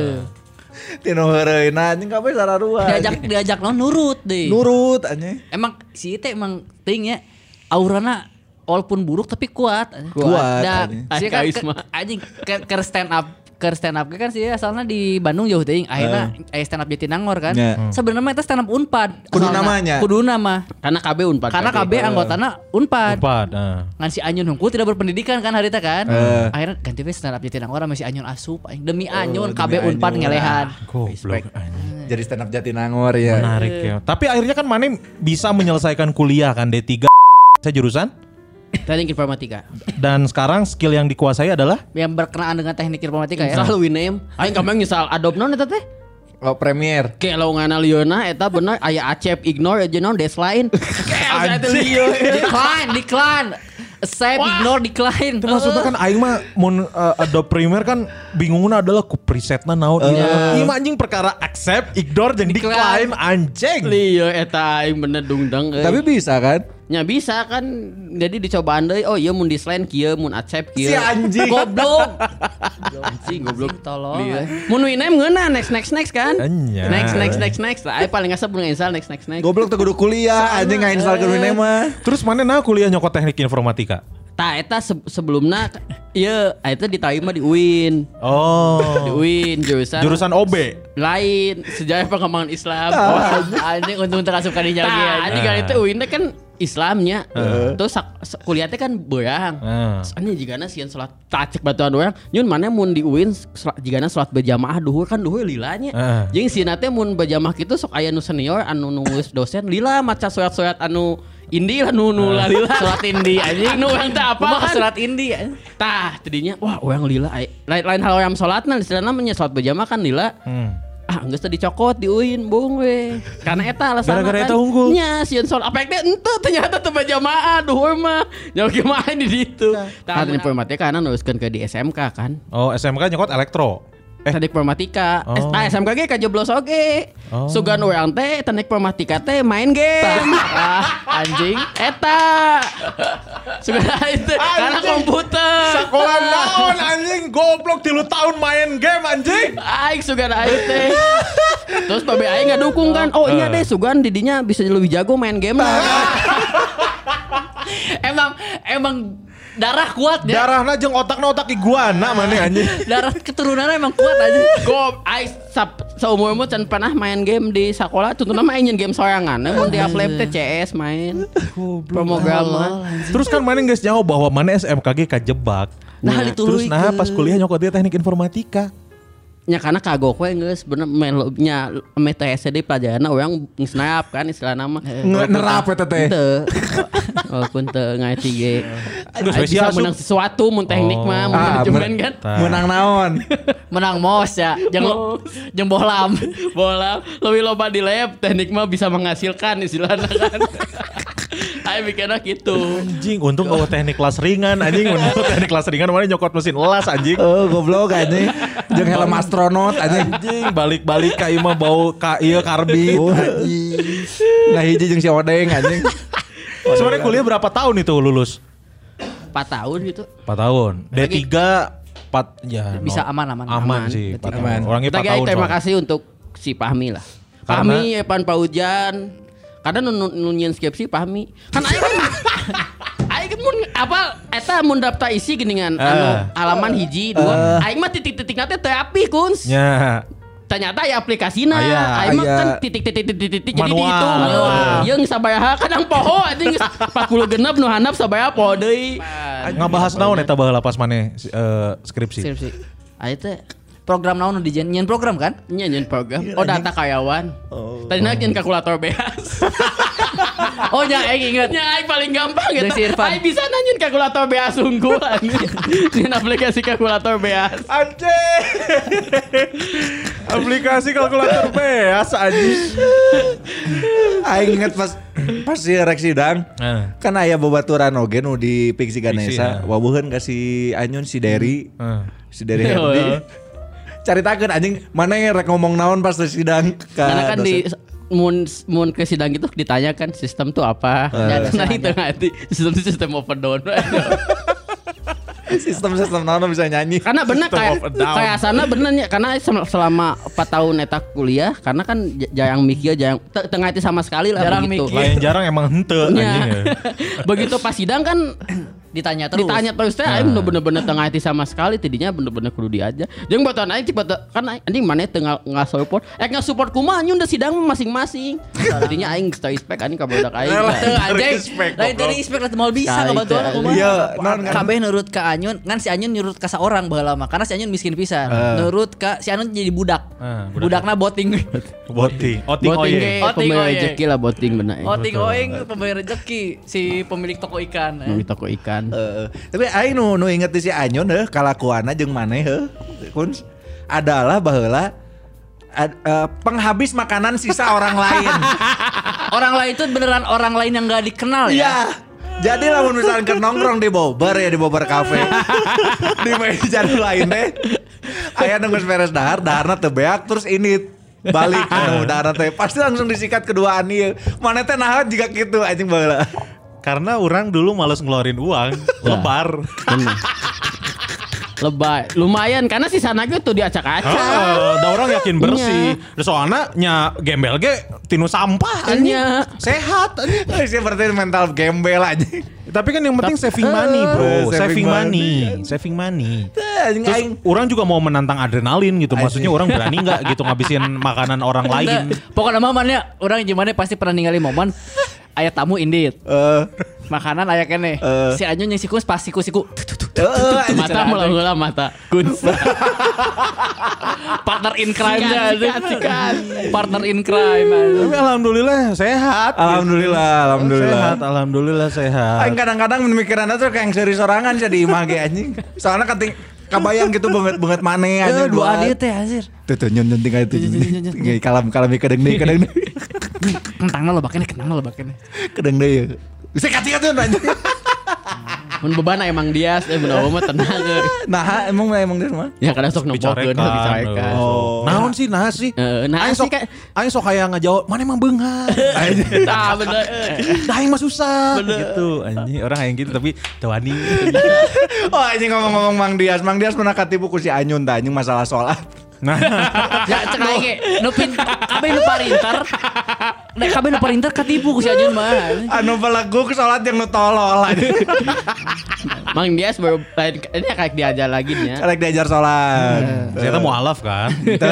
Tina heureuna anjing kabeh sararuan. Diajak nurut deh. Nurut anjing. Emang si Ite emang tingnya aurana walaupun buruk tapi kuat. Kuat, Dan si kan anjing ke stand up kan sih asalnya di Bandung jauh teuing. Akhirnya stand up Jatinangor kan. Sebenarnya itu stand up Unpad. Kudu namanya. Kudu nama. Karena KB Unpad. Karena KB anggotana Unpad. Ngan si Anyun hungkul tidak berpendidikan kan harita kan. Akhirnya ganti we stand up Jatinangor sama si Anyun asup. Demi Anyun KB Unpad ngelehan. Goblok. Jadi stand up Jatinangor ya. Menarik ya. Tapi akhirnya kan Mane bisa menyelesaikan kuliah kan D3 saya jurusan Teknik informatika. dan sekarang skill yang dikuasai adalah Yang berkenaan dengan teknik informatika ya. Selalu winem. Aing kamang nyesal adobe non eta teh. Oh, Premiere. Kayak lowongan Liona eta bener aya acep ignore aja non deadline. Kayak eta lieu. Decline. Accept, ignore, decline. itu maksudnya kan aing mah mun Adobe Premiere kan bingungna adalah ku presetna naon. Ieu mah anjing perkara accept, ignore jeung decline anjing. Lieu eta aing bener dungdang. Tapi bisa kan? Nya bisa kan. Jadi dicobaan deui. Oh iya mun deadline kieu, mun accept kieu. Si anjing. Goblok. Anjing goblok Tolong. Mun winem ngeuna next kan. Anya. Next. Lah paling ngasep mun install next. Goblok teh kudu kuliah anjing ngainstall ke Wine mah. Terus mana nah kuliah nyokot teknik informatika? Tah eta sebelumna ieu eta ditawi mah di UIN. Oh. Di UIN Jurusan OB. lain sejarah pengembangan Islam. Anjing untung terasup kadinya lagi Tah, anjing. anjing kan itu UIN teh kan Islamnya. Terus kuliahnya kan beurang. Soalnya jigana sieun salat tacek batuan urang, nyun mana mun di UIN jigana salat berjamaah duhur kan duhur lilanya. Jeung sieuna teh mun berjamaah kitu sok aya nu senior anu nulis dosen lila maca surat-surat anu indi lah nu lila Surat indi anjing. nu urang teh apa Kumaha kan surat indi anjing. tah tadinya wah urang lila lain hal yang salatna istilahna nya salat berjamaah kan lila. Geus teh dicokot di UIN bung we. Karena eta alasan Gara-gara kan. eta unggul. Nya sieun salat apa teh henteu ternyata teu berjamaah duhur mah. Nya gimana di ditu. Tah informatika kana nuliskeun ke di SMK kan. Oh, SMK nyokot elektro. Teknik informatika. SMK ge kajeblos oge. Sugan urang teh teknik informatika teh main game. Anjing. Eta. Sugan itu karena komputer. Sekolah naon anjing goblok 3 tahun main game anjing. Aing sugan aing teh. Terus babe aing ngadukung kan. Oh iya deh sugan didinya bisa lebih jago main game. Emang darah kuat ya. Darahna jeung otakna otak iguana mana anjing. Darah keturunannya emang kuat aja. Go aing saumur-umur can pernah main game di sekolah tuntuna mah aing game sorangan. Mun di lab teh CS main. Pemrograman. Terus kan mana geus nyaho bahwa mana SMKG kajebak. Nah, Terus nah pas kuliah nyokot dia teknik informatika. Nya karena kagok we geus bener nya MTSD pelajaranna urang nge-snap kan istilahna mah. Nerap eta teh. Teu. Walaupun teu ngerti ge. spesial Bisa menang sesuatu mun teknik mah mun manajemen kan. Menang naon? Menang mos ya. Jeung bohlam. Bola lebih loba di lab teknik mah bisa menghasilkan istilahna kan. Ayo mikirnya gitu. Anjing untung bawa teknik kelas ringan anjing untung teknik kelas ringan mana nyokot mesin las anjing. Oh goblok anjing. Jeung helm astronot anjing. Anjing balik-balik ka ieu mah bau ka ieu karbit. Anjing. Nah hiji jeung si Odeng anjing. Sebenarnya kuliah berapa tahun itu lulus? 4 tahun gitu. 4 tahun. D3 4 ya Bisa aman sih. D3. 4 tahun. Orangnya 4 Tapi tahun. terima soalnya. kasih untuk si Fahmi lah. Karena? Fahmi, Evan Paujan. Kadang nunyin skripsi Fahmi. Kan aing kan aing mun apa eta mun daftar isi geuningan anu halaman hiji 2. Aing mah titik-titikna teh teu apih Kuns. Ya. Ternyata aya aplikasina. Aya. Aing mah Aya. kan titik-titik jadi Manual. dihitung. Yeung sabaraha kadang poho anjing 40 genep nu handap sabaraha poho deui. Ngabahas naon eta baheula pas maneh skripsi. Ayo teh program naon di nyen program kan? Nyen program. Oh data karyawan. Tadi nanya kalkulator beas. Oh nya aing inget. Nya aing paling gampang Jeung si gitu. Irfan. Aing bisa nanyain kalkulator beas unggul anjing. Nyen aplikasi kalkulator beas. Anjing. Aplikasi kalkulator beas anjing. Aing inget pas si rek sidang. Kan aya babaturan oge nu di Piksi Ganesha. Wabuheun ka si Anyun si Derry. Si Derry Herdi. Caritakeun anjing mana yang rek ngomong naon pas sidang ka Karena kan di dosen. mun ke sidang gitu ditanyakan sistem tuh apa. Nah itu ngerti sistem itu sistem open down. Sistem naon bisa nyanyi. Karena bener kayak sana benernya karena selama 4 tahun eta kuliah karena kan jarang mikir jarang tengah itu sama sekali lah Jarang begitu. mikir. Lain jarang emang henteu anjing. Ya. Begitu pas sidang kan Ditanya terus. teh aing bener-bener tengah hati sama sekali tidinya bener-bener kudu diajar. Jeung batuan aing cepet kan anjing maneh teu support. Support kumaha nyun da sidang masing-masing. Tidinya aing stay respect anjing ka budak aing. Teu anjing. Lain tadi respect lah mau bisa ngebantuan kumaha. Iya, non kan. Kabeh nurut ka Anyun, kan si Anyun nurut ka saorang baheula mah karena si Anyun miskin pisan. Nurut ka si Anyun jadi budak. Budakna boting. Boting. Boting Oye. ge Oting pemilik oye. rezeki lah boting bener. Oting oing pembayar rezeki si pemilik toko ikan. Di toko ikan. Tapi aing nu inget si Anyun kalakuanna jeung maneh kun adalah baheula penghabis makanan sisa orang lain. Orang lain itu beneran orang lain yang gak dikenal ya. Iya. Jadi lamun misalkan ke nongkrong di Bobber ya di Bobber Cafe. Di meja lain deh. Aya nunggu beres daharna teu beak terus ini balik anu daharna teh pasti langsung disikat keduaan ieu. Maneh teh naha jiga kitu anjing baheula. Karena orang dulu males ngeluarin uang, lepar. Lebay. Lumayan karena si sana tuh diacak-acak. Da orang yakin bersih. Soalnya nya gembel ge tinu sampah anjing. Nya. Sehat anjing. Sih berarti mental gembel anjing. Tapi kan yang penting saving money, bro. Saving Saving money. Anjing Terus aing orang juga mau menantang adrenalin gitu. Maksudnya orang berani nggak gitu ngabisin makanan orang lain. Pokoknya momennya orang gimana pasti pernah ninggalin momen aya tamu indit. Makanan aya kene. Si Anyun yang siku pas siku. Mata mula mata. Kunz. Partner in crime-nya. Sikat. Partner in crime. Tapi alhamdulillah sehat. Alhamdulillah sehat. Aing kadang-kadang pemikiranna tuh kayak seri sorangan jadi imah ge anjing. Soalnya kabayang gitu banget maneh anjing Dua dia teh anjir. Tuh nyun tinggal itu. Kalam kadang deui. Kentangna lo bakene. Kedeng deui. Bisa kati-kati anjing. Mun beban emang dia bener mah tenang. Nah, emang dia mah. Ya kadang sok nempokeun dicorekan. Naon sih nah sih? Nah Aing sih sok kan. aing sok hayang ngajawab, mana emang beunghar. Tah bener. Aing mah susah gitu. Anjing orang aing gitu tapi teu wani. Oh anjing ngomong-ngomong Mang Dias pernah katipu ku si Anyun tah anjing masalah sholat. Nah, Ya cek aing ge nu kabeh nu parinter. Nek kabeh nu parinter katipu ku si Anyun mah. Anu belagu ke sholat yang nu tolol anjing. Mang Dias baru ini kayak diajar lagi nya. Karek diajar sholat. ternyata mualaf kan.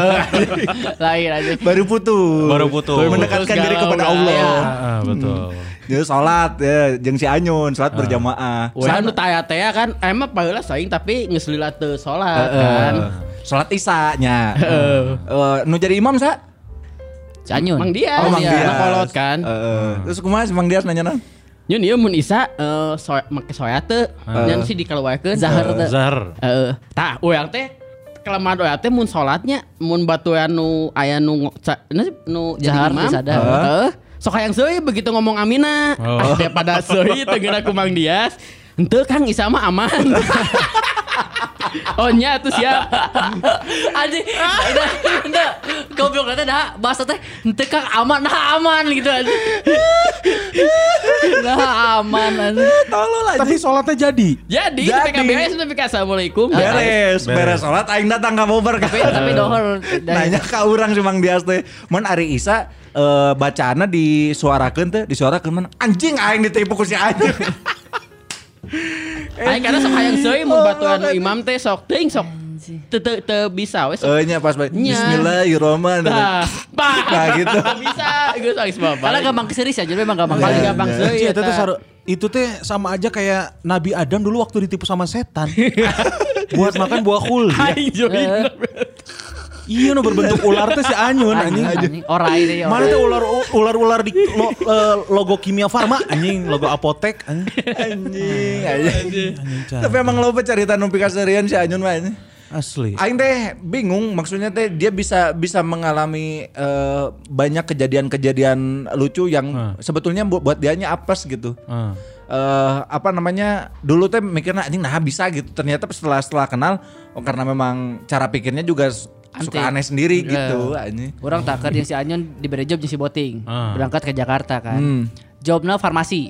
Lain aja. Baru putus. Mendekatkan Putus diri galau, kepada galau. Allah. Betul. Dia sholat ya, jeung si Anyun sholat berjamaah. Wah nu taya-taya kan emang baheula saing tapi geus lila teu salat kan. Sholat isya-nya. Nu jadi imam sa? Si Anyun. Mang Dias. Mang Dias. Kolot kan. Terus kumaha si Mang Dias nanya nang? Nyun ieu mun isa make soya teu. Nyan sih dikeluarkeun. Zahar. Tah urang teh kelemahan urang teh mun salatnya mun batuan nu aya nu nu jadi Zahar imam. sadar. Sok hayang seui begitu ngomong amina. Daripada seui teu geuna ku Mang Dias. Henteu Kang Isa mah aman. Oh nya tuh siap. Anjing. Udah. Goblok teh dah bahasa teh henteu Kang aman gitu anjing. Nah aman anjing. Tolol aja. Tapi sholatnya jadi. Jadi ketika beres tapi assalamualaikum. Beres sholat aing datang ka Bobber Tapi dohor. nanya ka urang si Mang Dias teh. Mun ari Isa bacaana disuarakeun mana anjing aing ditipu ku si anjing. Aing karena sok hayang seui mun batuan nu imam teh sok teuing sok teu bisa we sok. Nya pas Nya. Bismillahirrahmanirrahim. Nah gitu. Bisa geus geus bapak. Karena gampang keserius aja memang gampang paling kali. gampang seui Itu teh sama aja kayak Nabi Adam dulu waktu ditipu sama setan. Buat makan buah khul. Aing join. Iya nu berbentuk ular teh si Anyun anjing. Orai deh. Mana teh ular di logo Kimia Farma anjing, logo apotek anjing. Tapi emang loba carita nu pikasarian si Anyun mah anjing. Asli. Aing teh bingung maksudnya teh dia bisa mengalami banyak kejadian-kejadian lucu yang sebetulnya buat dianya apes gitu. Dulu teh mikirnya anjing nah bisa gitu. Ternyata setelah kenal karena memang cara pikirnya juga suka aneh sendiri gitu anjing. Orang tak kerja si Anyun diberi job di si Boting. Berangkat ke Jakarta kan. Jobnya farmasi.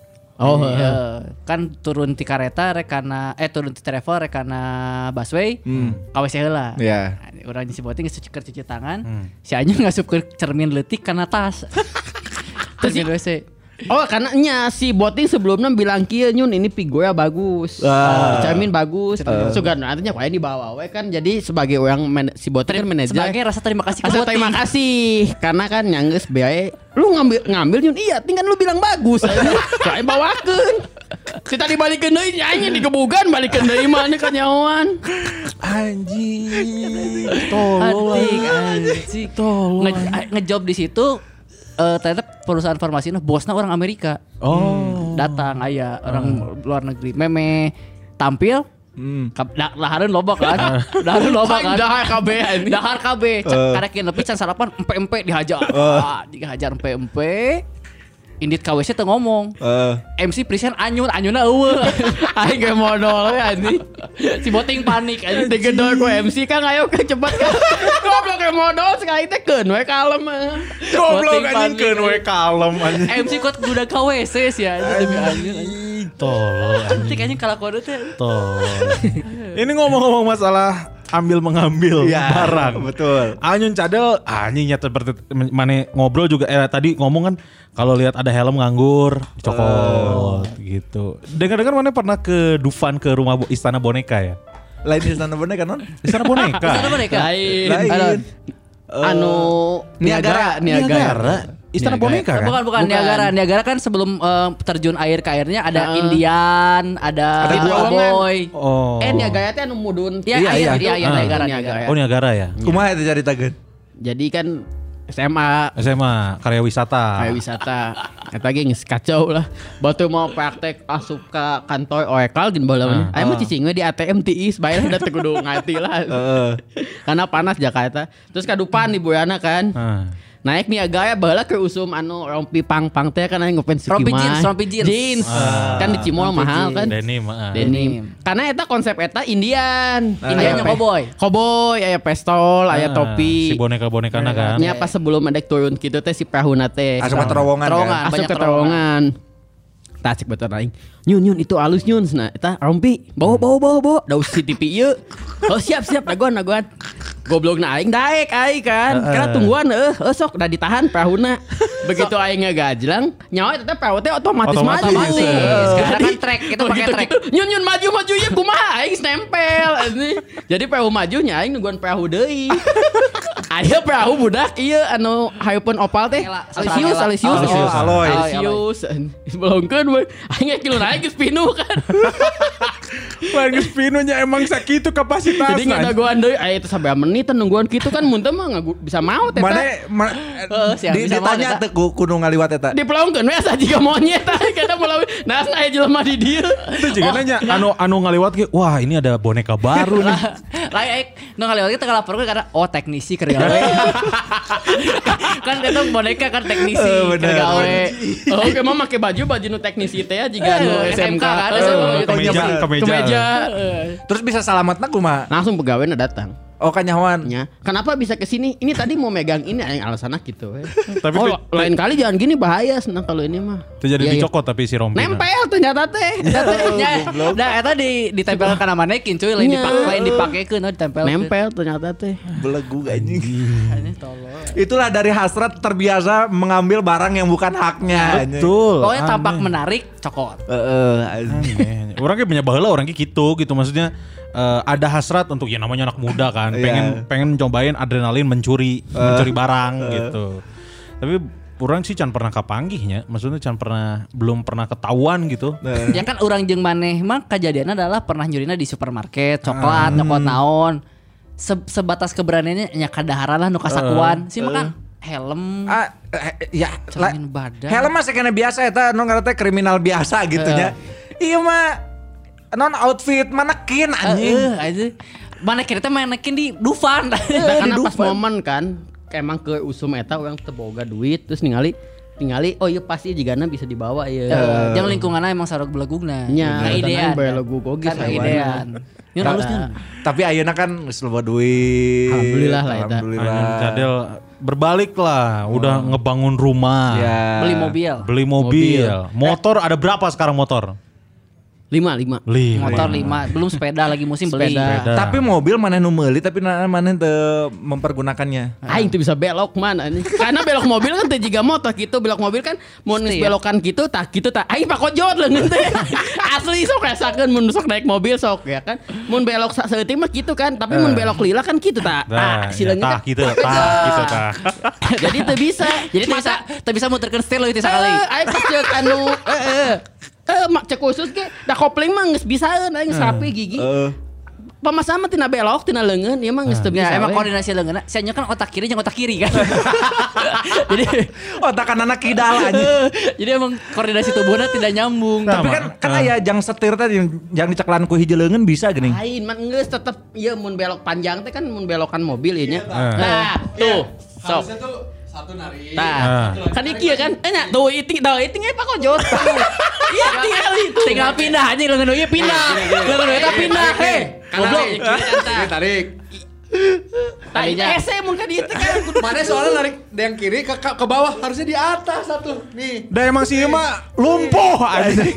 Kan turun di kereta turun di travel rekana busway KWC heula. Urang di si Boting cuci tangan. Si Anyun ngasup ke cermin leutik kana tas. Terus di WC. Oh karena si Boting sebelumnya bilang kieu Nyun ini pigoya bagus. Cermin bagus. Sugan artinya kayak dibawa we kan jadi sebagai orang si Boting kan manajer. Sebagai rasa terima kasih ke Boting. Terima kasih karena kan nyanggeus beae lu ngambil Nyun iya tinggal lu bilang bagus. Kayak bawakeun. Kita dibalikeun deui nyanyi digebugan balikeun deui mah kan nyawan. Anjing. Tolong. Ngejob di situ ternyata perusahaan farmasi bosnya orang Amerika. Datang orang luar negeri. Meme tampil dahareun loba kan. Dahar KB. Karekin nepi can sarapan empe-empe dihajar. Dihajar empe-empe. Indit KWC teu ngomong. MC present Anyunna eueuh. Aing ge modal we anjing. Si Boting panik anjing digedor ku MC Kang ayo cepat kan. Goblok ge modal sekali teh keun we kalem. Goblok anjing keun we kalem anjing. MC kuat budak KWC sih anjing demi anjing. Tolol anjing. Kayaknya kalakuan teh. Ini ngomong-ngomong masalah ambil mengambil barang. Betul. Anyun cadel anjingnya seperti mana ngobrol juga tadi ngomong kan kalau lihat ada helm nganggur dicokot gitu. Dengar-dengar mana pernah ke Dufan ke rumah Istana Boneka ya? Lain Istana Boneka non? Istana Boneka. Lain. Niagara. Istana Boneka kan? Bukan. Niagara kan sebelum terjun air ke airnya ada Indian, ada Boy. Niagara teh anu mudun. Iya, Niagara. Oh Niagara ya. Kumaha eta caritakeun? Jadi kan SMA karya wisata. Eta ge geus kacau lah. Batu mau praktek asup ka kantor Oekal gin baheula. Aya mah cicing we di ATM tiis bae udah teu kudu ngati lah. Karena panas Jakarta. Terus kadupan di Boyana kan. Naik Niagara baheula ke usum rompi pang-pang teh kan aya ngefans rompi jeans. Kan di Cimol mahal kan. Denim. Karena eta konsep eta Indian. Indiannya Cowboy aya pistol, aya topi. Si boneka-bonekana kan. Nya pas sebelum ada turun gitu teh si prahuna teh. Asup ke terowongan. Tasik betul aing. Nyun itu alus Nyun. Nah eta rompi. Bawa. Da usi TV ieu. Oh siap daguan. Goblokna aing daek aing kan. Karena tungguan sok udah ditahan prahuna. Begitu aing ngegajlang, nyawa tetep perahu teh otomatis maju. Karena kan trek kita pakai trek. Nyun maju ya kumaha aing nempel anjing. Jadi perahu majunya aing nungguan perahu deui. Aya perahu budak ieu anu hayeupeun opal teh. Alisius. Belongkeun we. Aing kilo naik geus pinuh kan. Wah geus pinuhnya emang sakitu kapasitasna. Jadi ngadagoan deui aya teh sabea menit nungguan kitu kan mun teh mah bisa mau teh. Ditanya teh kudu ngaliwat eta. Dipelongkeun we asa jiga monyet kada mulai nah aya jelema di dieu. Itu juga nanya anu ngaliwat ge wah ini ada boneka baru nih. Lain nu ngaliwat kita ngalaporkeun karena teknisi keur gawe. Kan eta boneka kan teknisi keur gawe. Oke mah make baju nu teknisi teh jiga anu SMK kan. Kemeja. Terus bisa selamatna kumaha? Langsung pegawainya datang. Oh kanyawan. Ya. Kenapa bisa ke sini? Ini tadi mau megang ini yang alasannya gitu. Tapi lain kali jangan gini bahaya senang kalau ini mah. Terjadi dicokot tapi si rompi. Nempel ternyata teh. Nah eta ditempelkan kana manekin cuy lain dipakekeun ditempel. Nempel ternyata teh. Belegu anjing. Itulah dari hasrat terbiasa mengambil barang yang bukan haknya. Betul. Pokoknya tampak menarik cokot. Orang kayak punya baheula orang kayak gitu maksudnya ada hasrat untuk ya namanya anak muda kan pengen cobain adrenalin mencuri barang gitu. Tapi orang sih can pernah kapanggihnya, maksudnya belum pernah ketahuan gitu. Ya kan orang jeung maneh mah kejadiannya adalah pernah nyurina di supermarket, coklat, nyokot naon. sebatas keberaniannya nya kadaharan lah nu kasakuan. Si makan helm. Ya cermin badan. helm mah sakena biasa eta nu ngaranna teh kriminal biasa gitu nya. Iya mah non outfit manekin anjing. Manekin teh manekin di Dufan. Karena pas momen kan emang ke usum eta orang teboga duit terus ningali oh iya pasti jigana bisa dibawa ya. Yang lingkunganna emang sarog belegugna. Nya idean. Belegug oge kan idean. Nyun halusnya. Tapi ayeuna kan geus loba duit. Alhamdulillah lah eta. Alhamdulillah. Cadel berbalik lah, udah ngebangun rumah, Ya. Beli mobil. Motor ada berapa sekarang motor? 5. Motor 5, belum sepeda lagi musim beli. Sepeda. Tapi mobil maneh nu meuli tapi maneh teu mempergunakannya. Aing tuh bisa belok mana nih. Karena belok mobil kan teh jiga motor gitu, belok mobil kan mun belokan gitu tah aing pakojot leungeun teh. Asli sok rasakeun mun sok naik mobil sok ya kan. Mun belok saeutik mah gitu kan, tapi mun belok lila kan gitu tah. Sileungnya gitu tah. Jadi teu bisa. Jadi teu bisa muterkeun setir leuwih ti sakali. Aing pas ceuk anu mak cek khusus ge da kopling mah geus bisaeun aing sapi gigi. Pamasama tina belok tina leungeun ieu mah geus teu bisa. Ya emang koordinasi leungeunna, sia kan otak kiri jeung otak kiri kan. Jadi otak kanan kidal aja. Jadi emang koordinasi tubuhnya tidak nyambung. Tapi kan aya jang setir teh yang diceklan ku hiji leungeun bisa geuning. Lain mah geus tetep ieu mun belok panjang teh kan mun belokan mobil ieu nya. Nah, tuh. Sok. Harusnya tuh satu narik. Nah, kan iki ya kan? Nya tuh iting pakojot. Iya tinggal pindah aja leungeun ieu pindah. Leungeun eta pindah. Goblok. Tarik. Tadinya ese mun ka dieu teh kan Mana soalnya narik yang kiri ke bawah harusnya di atas satu. Nih. Da emang si mah lumpuh anjing.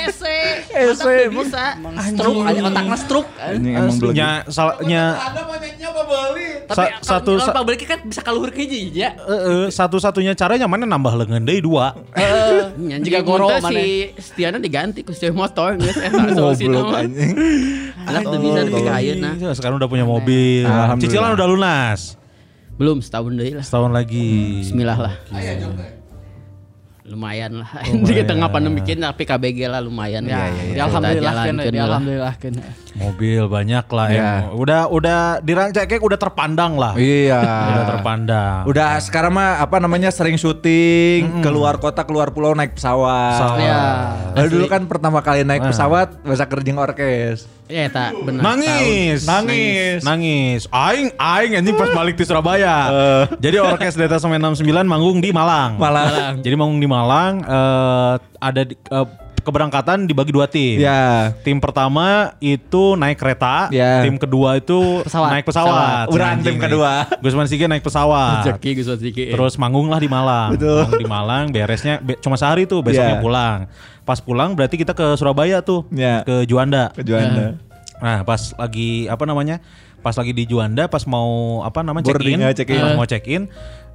Ese bisa. Stroke aja otakna stroke. Nya Ada banyaknya apa beli? Tapi satu kalau balik kan bisa kaluhur ke hiji ya. satu-satunya caranya mana nambah leungeun deui 2. Jika goro si Stiana diganti ku si motor geus eta solusinya. Anak teu bisa nepi ka ayeuna. Sekarang udah punya mobil. Cicilan udah lunas. Belum setahun deui lah. Setahun lagi. Bismillah lah. Lumayan lah. Di tengah pandemi tapi KBG lah lumayan. Ya alhamdulillah kan. Mobil banyak lah ya. Udah dirancang kayak udah terpandang lah. Iya. Udah terpandang. Udah sekarang mah apa namanya sering syuting keluar kota keluar pulau naik pesawat. Iya. Dulu kan pertama kali naik pesawat bahasa kerjeng orkes. Ya tak benar. Nangis. Aing anjing pas balik di Surabaya. Jadi orkes Detasemen 69 manggung di Malang. Jadi manggung di Malang ada keberangkatan dibagi 2 tim. Ya. Tim pertama itu naik kereta, tim kedua itu naik pesawat. Urang tim kedua. Gusman Sige naik pesawat. Gusman Sige. Terus manggung lah di Malang. Manggung di Malang, beresnya cuma sehari tuh, besoknya pulang. Pas pulang berarti kita ke Surabaya tuh, ke Juanda. Nah, pas lagi Pas lagi di Juanda, pas mau mau check-in,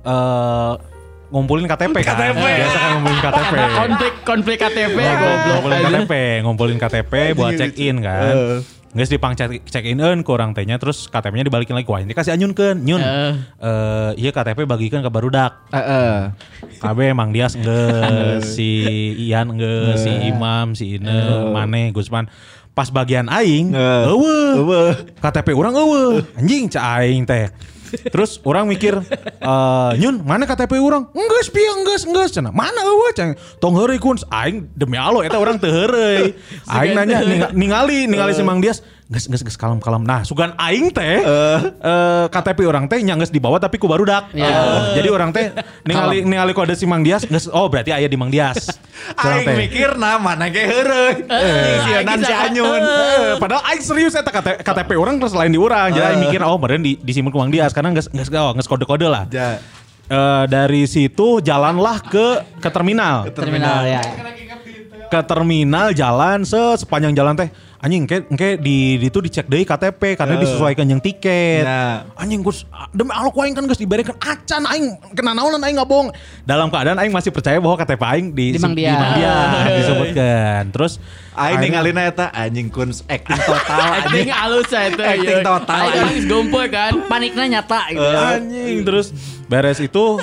ngumpulin KTP kan. Biasa kan ngumpulin KTP. Konflik KTP. Ngumpulin KTP buat check-in kan. Geus dipang check-in-eun ku urang teh nya terus KTP-nya dibalikin lagi ku aing dikasih anyunkeun. Nyun. Ieu KTP bagikeun ka barudak. Kabeh Mang Dias geus, si Ian geus, si Imam, si Ine, Maneh, Gusman. Pas bagian aing, eueuh. KTP urang eueuh. Anjing ca aing teh. Terus orang mikir, Nyun mana KTP orang? Enggeus cenah. Mana eueuh cenah. Tong heureuy kun aing demi Allah eta urang teu heureuy. Aing nanya ningali si Mang Dias, geus kalem. Nah, sugan aing teh KTP orang teh nya geus dibawa tapi ku barudak. Jadi orang teh ningali kode si Mang Dias, geus berarti aya di Mang Dias. Aing mikirna mana ge heureuy. Sieun si Anyun. Padahal aing serius eta KTP orang terus lain di urang. Jadi aing mikir meureun disimpen ku Mang Dias karena geus kode-kode lah. Dari situ jalanlah ke terminal. Ke terminal jalan sepanjang jalan teh. Anjing engke di itu dicek deui KTP karena disesuaikan yang tiket. Anjing Gus demi Allah ku aing kan geus diberekeun acan aing kena naonan aing ngabong. Dalam keadaan aing masih percaya bahwa KTP aing di Mang Dias disebutkan. Terus aing ningalina eta anjing kun acting total. Acting halus eta. Acting total. Aing gompol kan. Paniknya nyata gitu. Anjing terus beres itu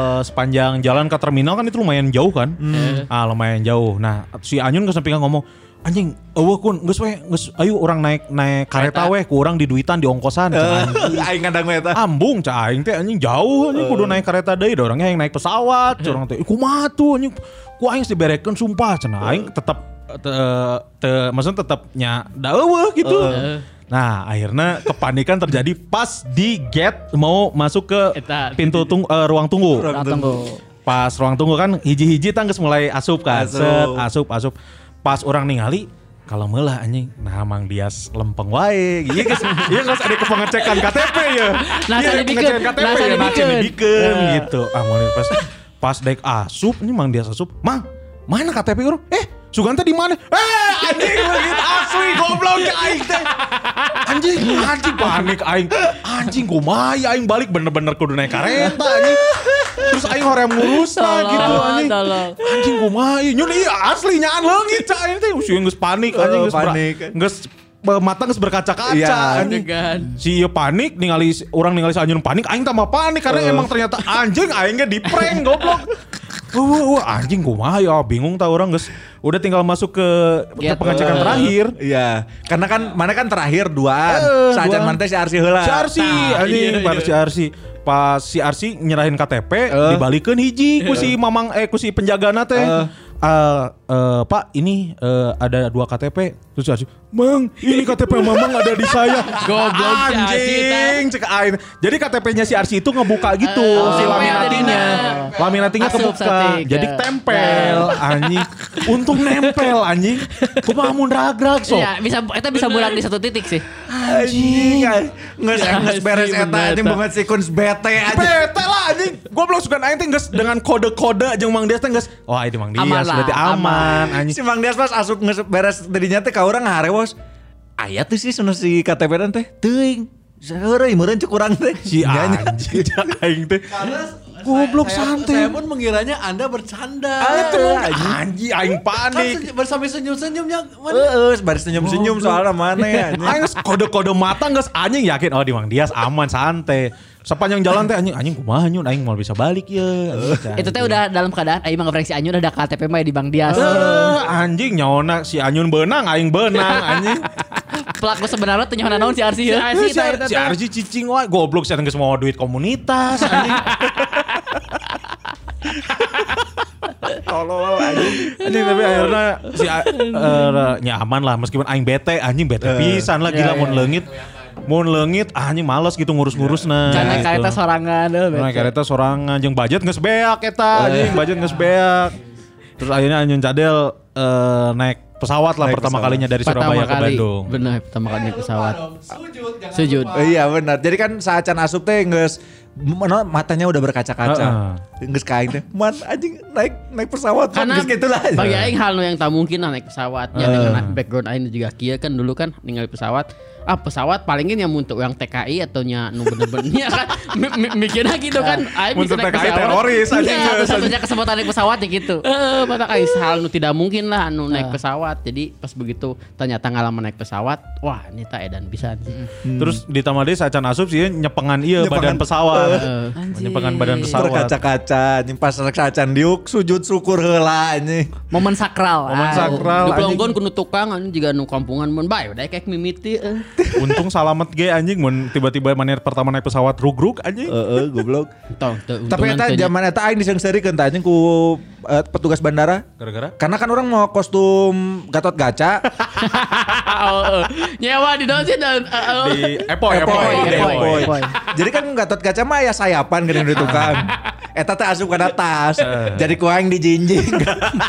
sepanjang jalan ke terminal kan itu lumayan jauh kan. Lumayan jauh. Nah si Anyun ke samping ngomong, anjing eueuh kun geus ayo orang naik kareta we ku urang di duitan di ongkosan aing kadang we eta ambung cah aing teh anjing jauh anjing kudu naik kereta deui da urangnya yang naik pesawat curang teh kumaha tuh anjing ku aing diberekeun sumpah cenah aing tetep maksudnya tetep nya da eueuh gitu. Nah akhirnya kepanikan terjadi pas di gate mau masuk ke pintu ruang tunggu. Pas ruang tunggu kan hiji-hiji tangges mulai asup kan. Asup. Pas orang ningali kalau meulah anjing nah Mang Dias lempeng wae gitu guys. Iya geus ada pengecekan KTP ya. Nah ngecekan KTP ya dibikeun gitu. Mulai pas daek asup ini Mang Dias asup. Mang, mana KTP urang? Suganta di mana? Anjing begitu asli goblok aing teh. Anjing panik aing. Anjing kumaha aing balik bener-bener kudu naik kareta anjing. Terus aing hoream ngurusna gitu anjing. Anjing kumaha nyun ieu asli nyaan leungit cak aing teh geus panik anjing geus mata geus berkaca-kaca anjing. Si ieu panik ningali urang ningali si Anyun panik aing tambah panik karena emang ternyata anjing aing ge di-prank goblok. Anjing kumaha ya bingung tah urang geus udah tinggal masuk ke pengecekan terakhir. Iya, karena kan mana kan terakhir duaan. Sajan mana teh si Arsi heula. Si Arsi anjing baru si Arsi. Pas si Arsi nyerahin KTP dibalikeun hiji ku si mamang ku si penjagana teh. Pak ini ada 2 KTP. Terus si Arsi, Mang ini KTP mamang ada di saya. Goblok anjing cek aing. Jadi KTP-nya si Arsi itu ngebuka gitu si laminatinya kebuka. Jadi tempel anjing. Untung nempel anjing. Kumaha mun ragrag sok. Iya, bisa bulan di satu titik sih. Anjing. Geus beres eta anjing banget si Kuns bete aja. Bete lah anjing. Goblok sugan aing teh geus dengan kode-kode jeung Mang Dias teh geus. Wah, ini Mang Dias berarti aman anjing. Si Mang Dias pas asup geus beres tadinya teh ka urang ngaharewos. Aya tuh sih sana si KTP-an teh teuing. Saeureui meureun cuk urang teh. Si anjing aing teh. Goblok santai. Saya pun mengiranya Anda bercanda. Anjing aing panik. Kan bersama senyum-senyumnya baris senyum-senyum soalnya mana ya. Aing kode-kode mata geus anjing yakin di Mang Dias aman santai. Sepanjang jalan teh anjing kumaha nyun aing mau bisa balik ya. Itu teh udah dalam keadaan aing mah si Anyun ada KTP mah di Bang Dias. Anjing nyaona si Anyun beunang aing beunang anjing. Pelaku sebenarnya teh nyaona naon si Arsi ya. Si Arsi cicing wae goblok saya geus mau duit komunitas anjing. Tolol anjing. Anjing tapi akhirnya si nyaman lah meskipun aing bete pisan lah gila mun leungit anjing males gitu ngurus-ngurusna. Naik kereta sorangan naik kereta sorangan jeung budget geus beak eta anjing budget geus beak. Terus akhirnya Anyun Cadel naik pesawat lah pertama kalinya dari Surabaya ke Bandung. Benar, pertama kali naik pesawat. Sujud. Iya benar. Jadi kan saat can asup teh geus matanya udah berkaca-kaca. Geus ka aing teh, "Man anjing naik pesawat." Karena geus kitu lah. Bagi aing hal yang tak mungkin naik pesawat. Ya dengan background aing juga kieu kan dulu kan ningali pesawat. Pesawat palingin yang untuk yang TKI atau nya nu bener-bener kan mikirnya gitu kan aing bisa naik pesawat teroris anjing satu-satunya kesempatan naik pesawat ya gitu mata aing hal nu tidak mungkin lah anu naik pesawat jadi pas begitu ternyata ngalaman naik pesawat wah ini tak edan bisa terus ditambah deui sacan asup sih nyepengan ieu badan pesawat nyepengan badan pesawat berkaca-kaca anjing pas sacan diuk sujud syukur heula anjing momen sakral di pelonggon kudu tukang anjing juga nu kampungan mun bae udah kayak mimiti untung salamet ge anjing mun tiba-tiba mana pertama naik pesawat rugrug anjing. Goblok. Tapi eta zaman eta aing disengseurekeun tah anjing ku petugas bandara. Gara-gara? Karena kan orang mau kostum Gatot Kaca. Nyewa di daun sih di Epoy. Jadi kan Gatot Kaca mah aya sayapan geuning di tukang. Eta teh asup kana tas. Jadi ku aing dijinjing.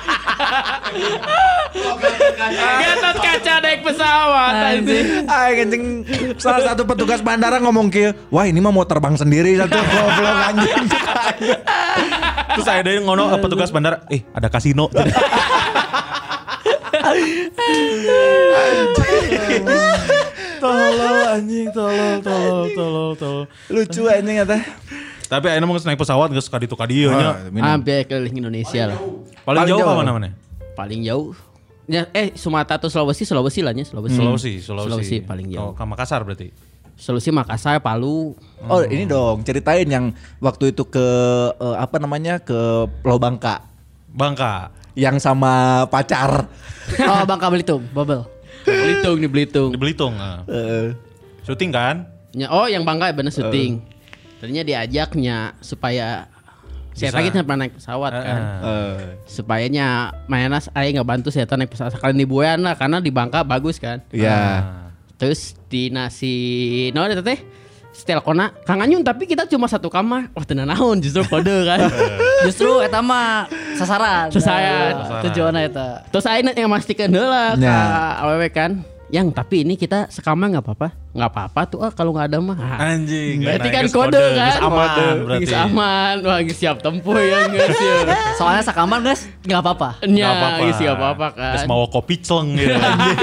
Gatot Kaca naik pesawat anjing. Anjing salah satu petugas bandara ngomong kieu, "Wah, ini mah mau terbang sendiri satu goblok anjing." Terus saya dari ngono petugas bandara, ada kasino. Tolol anjing, tolol. Lucu anjing eta. Tapi ayeuna mah naik pesawat geus ka ditu ka dieu nya. Hampir keliling Indonesia lah. Paling jauh ka mana-mana? Paling jauh ya, Sumatera atau Sulawesi lah nya Sulawesi paling jauh. Ke Makassar berarti. Sulawesi, Makassar, Palu. Oh ini dong ceritain yang waktu itu ke ke Pulau Bangka. yang sama pacar. Oh, Bangka Belitung, Bubble. Di Belitung. Di Belitung. Syuting kan? Yang Bangka bener syuting. Tadinya diajaknya supaya saya tadi pernah naik pesawat kan. Supayanya mainan saya nggak bantu saya naik pesawat sekali di Buean lah karena di Bangka bagus kan. Iya. Terus di nasi ada teh setel kona Kang Anyun tapi kita cuma satu kamar. Wah tenan naon justru kode kan. Justru eta mah sasaran. Tujuanna eta. Terus ayeuna yang mastikeun heula ka awewe kan. Yang tapi ini kita sekamar nggak apa-apa. Nggak apa-apa tuh kalau nggak ada mah. Anjing. Berarti kan kode kan. Aman berarti. Geus aman. Wah geus siap tempuh ya geus ya. Soalnya sakamar guys nggak apa-apa. Nya geus siap apa kan. Geus mau kopi celeng gitu.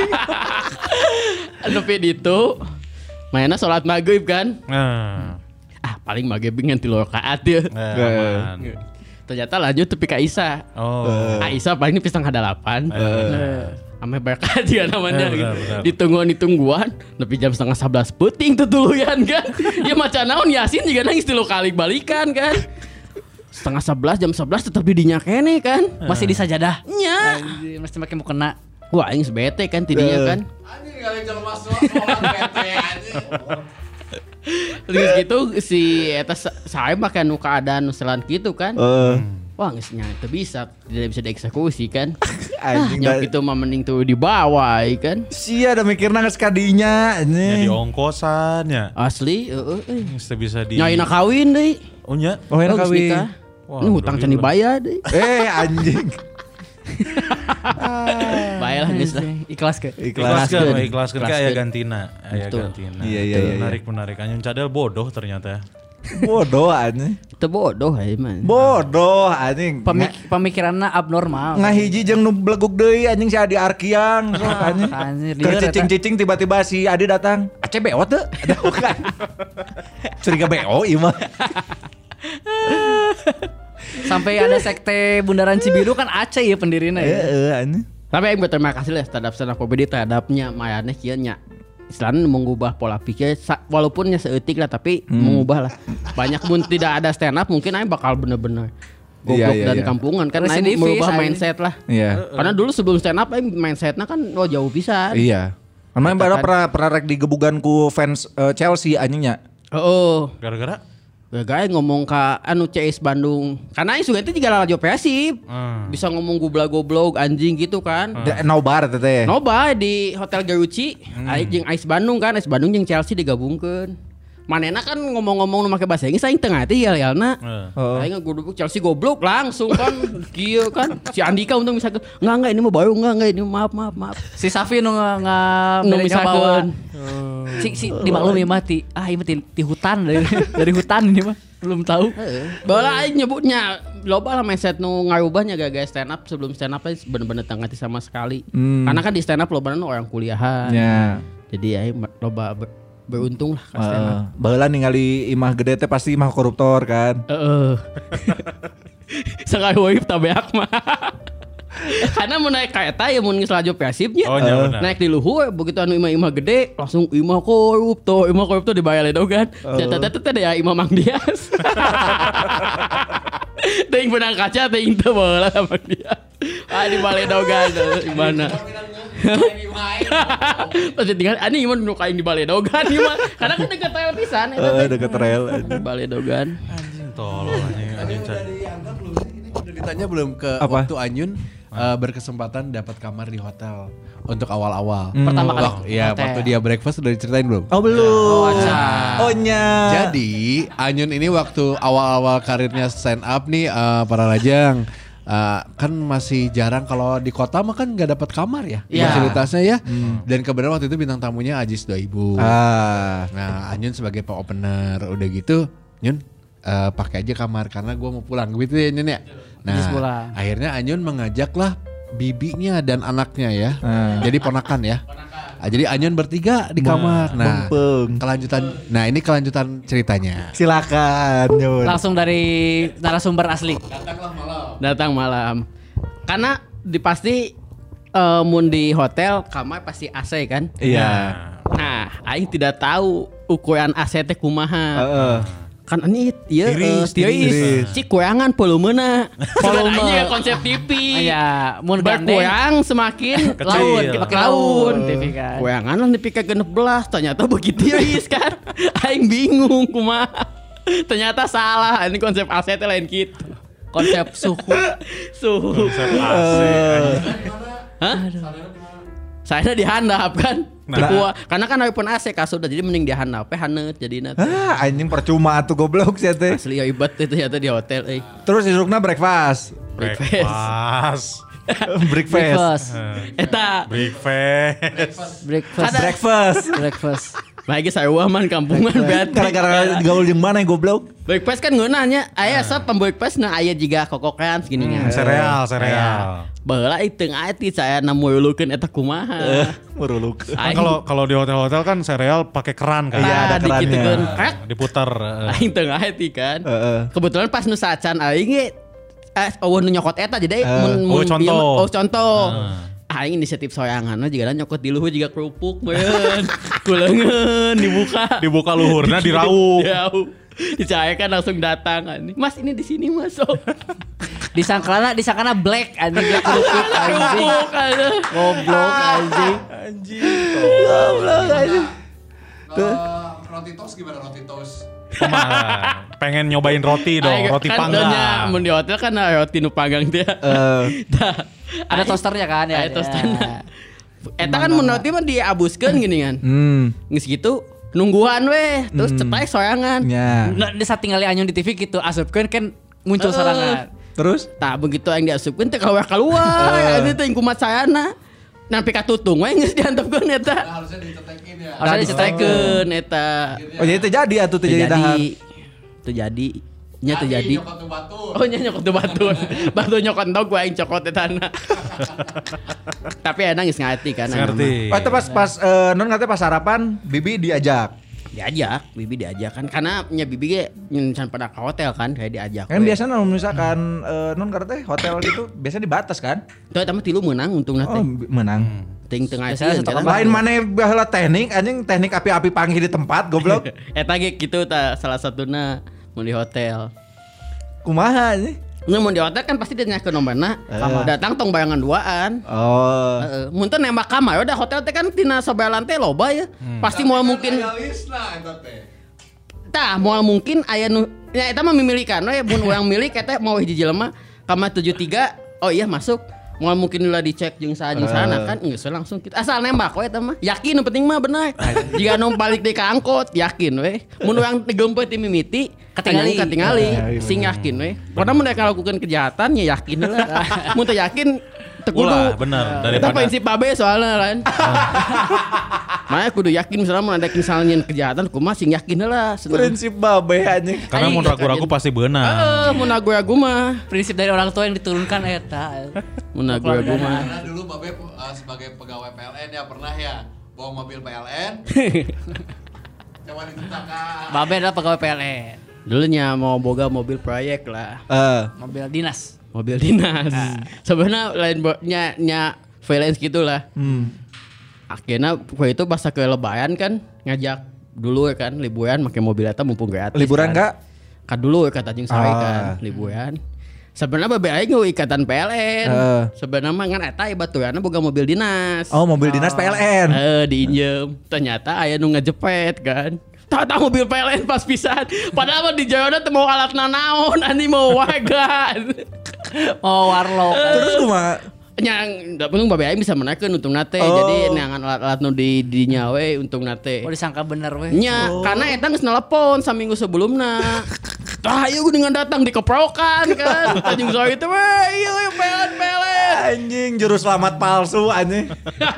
Tapi itu mainnya sholat maghrib kan. Paling maghrib ngan 3 rakaat ya. Ternyata lanjut tepi ka Isa. Isa paling pisang ada 8. Ame berkah dia namanya gitu. Ditungguan tapi jam 10:30 puting tutuluyan kan. Ya macan naon Yasin juga nangis 3 kali balikan kan. 10:30 jam 11 tetap didinya kene kan. Masih di sajadah. Nya. Anjir, mesti makin mau kena. Wah, aing bete kan tidinya kan. Anjing kali jelema sholat bete anjing. Terus gitu si eta saya makan nu keadaan selan gitu kan. Wah geus nya teu bisa, tidak bisa dieksekusi kan. Anjing Yang itu mah mending tuh dibawa kan. Sia ada mikirna geus kadinya Ya di ini. ongkosan ya. Asli, Geus teu bisa di. Nyaina kawin deui. Oh nya. Oh enak Geus kawin. nikah. Wah, Nu hutang can dibayar deui. Anjing. Baiklah geus lah. Ikhlas ke. Ikhlaskeun ka aya gantina. Aya Betul. gantina. Iya. Menarik. Anyun cadel bodoh ternyata. Bodoh anjing. Itu bodoh ya man. Bodoh anjing. Pemikiranna abnormal. Ngahiji jeung nu bleguk deui anjing si Adi Arkiang sok anjing. Anjir, Keur lieur eta. cicing-cicing tiba-tiba si Adi datang. Aceh beot teu? Ada bukan. Curiga beo ieu mah. Sampai ada sekte Bundaran Cibiru kan Aceh ya pendirina ya. Heeh anjing. Tapi aing berterima kasih lah terhadap stand up comedy terhadapnya mayane kieu nya. Istilahnya mengubah pola pikir walaupun nya seutik lah tapi mengubah lah. Banyak pun tidak ada stand up mungkin aing bakal bener-bener goblok dan kampungan kan aing Residivis, merubah aing. mindset lah. Iya. Karena dulu sebelum stand up aing mindsetnya kan jauh pisan. Iya. Emang pernah rek digebugan ku fans Chelsea anjingnya. Gara-gara Gaya ngomong ka anu CS Bandung. Karena aing suka itu juga radio Persib. Bisa ngomong goblok anjing gitu kan. Nobar teteh. Noba di Hotel Garuci, aing jeung Ais Bandung kan, Ais Bandung jeung Chelsea digabungkeun. Manena kan ngomong-ngomong nu make bahasa Inggris aing teu ngarti yel-yelna. Aing ngeguduk Chelsea goblok langsung kan kieu kan. Si Andika untung bisa enggak ini mah baru enggak ini maaf. Si Safi nu misalkeun. Si dimaklumi mah ti hutan dari hutan ini mah belum tahu. Bola aing nyebutnya loba lah mindset nu ngarubahnya gara-gara stand up sebelum stand up bener-bener teu ngarti sama sekali. Karena kan di stand up loba orang kuliahan. Ya. Jadi aing loba beruntung lah ka stand up. Baheula ningali imah gede teh pasti imah koruptor kan. Sekali wajib tabeak mah. Karena mau naik kereta ya mau ngis laju Persibnya. Naik di luhur begitu anu imah gede langsung imah koruptor dibayar ledogan. Tete ya imah Mang Dias. Ting benang kaca ting teu bola Mang Dias. Dibayar ledogan gimana? Pasti tinggal ani iman nu kain dibayar ledogan mah. Karena kan deket rel pisan Deket rel. dibayar ledogan. anjing tolol anjing. Udah ditanya belum ke waktu Anyun berkesempatan dapat kamar di hotel untuk awal-awal. Pertama kali. Iya, waktu dia breakfast udah diceritain belum? Oh belum. Oh, Jadi Anyun ini waktu awal-awal karirnya stand up nih para lajang kan masih jarang kalau di kota mah kan nggak dapat kamar ya fasilitasnya ya. Dan kebenaran waktu itu bintang tamunya Ajis 2000. Nah Anyun sebagai opener udah gitu Nyun pakai aja kamar karena gue mau pulang gitu ya Nyun ya. Nah akhirnya Anyun mengajaklah bibinya dan anaknya ya. Jadi ponakan ya. Jadi Anyun bertiga di kamar. Nah, kelanjutan. Nah, ini kelanjutan ceritanya. Silakan, Nyun. Langsung dari narasumber asli. Datang malam. Karena pasti mun di hotel kamar pasti AC kan? Iya. Nah, aing tidak tahu ukuran AC teh kumaha. kan ini tiris cik kuyangan volumena volume konsep TV ya mun berkurang semakin laun TV kan kuyangan lah TV ke 16 ternyata begitu tiris kan aing bingung kumaha ternyata salah ini konsep asetnya lain gitu konsep suhu Konsep AC. hah saya dihandap kan karena kan iPhone AC kasut jadi mending dihandap haneut jadina Anjing percuma tuh goblok sih teh. asli ya ibat itu ternyata di hotel Terus isukna breakfast. Breakfast. Breakfast. eta breakfast lagi saya man kampungan berarti Gara-gara gaul jeung mana goblok? breakfast kan ngeunanya aya asap breakfast na aya jiga kokokan segini Sereal. baheula teu ati saya namulukeun eta kumaha Meruluk. Kan kalau di hotel-hotel kan sereal pakai keran kan. Iya, ada kerannya. dikitukeun krek Diputar. aing teu ati kan kebetulan pas nu sacan aing ge nu nyokot eta jadi contoh aing inisiatif soyanganna jigana nyokot di luhur jiga kerupuk meureun kuleungeun Dibuka luhurna diraup. dicayakan langsung datang Mas ini di sini Mas disangkana black anjing kerupuk anjing goblok anjing Roti toast gimana roti toast? Pengen nyobain roti dong, roti panggang. Mun di hotel kan roti nu panggang teh. ada toasternya kan ya Ada toasternya. Eta kan mun roti mah diabuskeun gini kan. Geus gitu nungguan weh, terus cepai soyangan. Ya. Di saat tinggal anyun di TV gitu asupkeun kan muncul sorangan. Terus? Tah begitu yang diasupkeun teh keluar. Ini teh kumat sayana. Nampi katutung we geus diantepkeun eta. Harusnya ditetekin ya. Harusnya dicetekeun eta. Oh jadi terjadi atuh terjadi dahar. Terjadi. Nya terjadi. Nyokot tuh batu. Oh nya nyokot tuh batu. Batu nyokot endog gua aing cokot eta na. Tapi enak geus ngerti kan. Ngerti. Oh itu pas non katanya pas sarapan Bibi diajak. Bibi diajak kan karena nya Bibi ge nyen pada ke hotel kan kayak diajak. Kan biasanya misalkan non katanya hotel gitu biasanya dibatas kan? Tuh eta mah tilu meunang untungna teh. Oh menang. Ting tengah Lain mana baheula teknik anjing teknik api-api panggil di tempat goblok. Eta ge kitu ta salah satuna mun di hotel. Kumaha anjing? Mun di hotel kan pasti dia nyakeun nomorna. Datang tong bayangan duaan. Oh. Mun teh nembak kamar udah hotel teh kan tina sabelan teh loba ya. Pasti moal mungkin tah moal mungkin aya nu ya eta mah mimilikan we mun urang milik eta mau hiji jelema kamar 73 oh iya masuk. Moal mungkin ulah dicek jeung sana kan geus langsung kita asal nembak we eta mah. Yakin nu penting mah bener. Jika nu balik deui ka angkot yakin we. Mun urang digempet ti mimiti katingali sing yakin we. Padahal mun mereka lakukan kejahatan ya yakin lah. Mun teu yakin teu kudu. Bener Eta prinsip babe soalnya kan. Makanya kudu yakin misalnya mun ada misalnya kejahatan kumaha sing yakin lah. Prinsip babe anjing. Karena mun ragu-ragu pasti beunang. Mun ragu-ragu mah prinsip dari orang tua yang diturunkan eta. Mun ragu-ragu mah. Karena dulu babe sebagai pegawai PLN ya pernah ya bawa mobil PLN. Coba diceritakan. Babe adalah pegawai PLN. Dulunya mau boga mobil proyek lah. Mobil dinas. Sebenarnya lain nya freelance gitulah. Akhirnya waktu itu pas ke Lebaran kan ngajak dulu kan liburan pakai mobil eta mumpung gratis. Liburan enggak? Kan dulu kata Tanjung Sari kan liburan. Sebenarnya babe aing ikatan PLN. Sebenarnya mah ngan eta baturanna boga mobil dinas. Oh, mobil dinas PLN. Diinjem. Ternyata aya nu ngejepet kan. Tata mobil PLN pas pisan. Padahal mah di jayana teu mau alat naon, ani mau warga. Mau warlock. Terus kumaha? Yang penting babe aing bisa menakeun untung nate. Jadi neangan alat-alat nu di dinya we untung nate. Oh disangka bener we. Nya, karena eta geus nelepon saminggu sebelumna. Tah ieu dengan datang dikeprokan kan. Tanjung Sari teh we ieu PLN. Anjing juru selamat palsu anjing.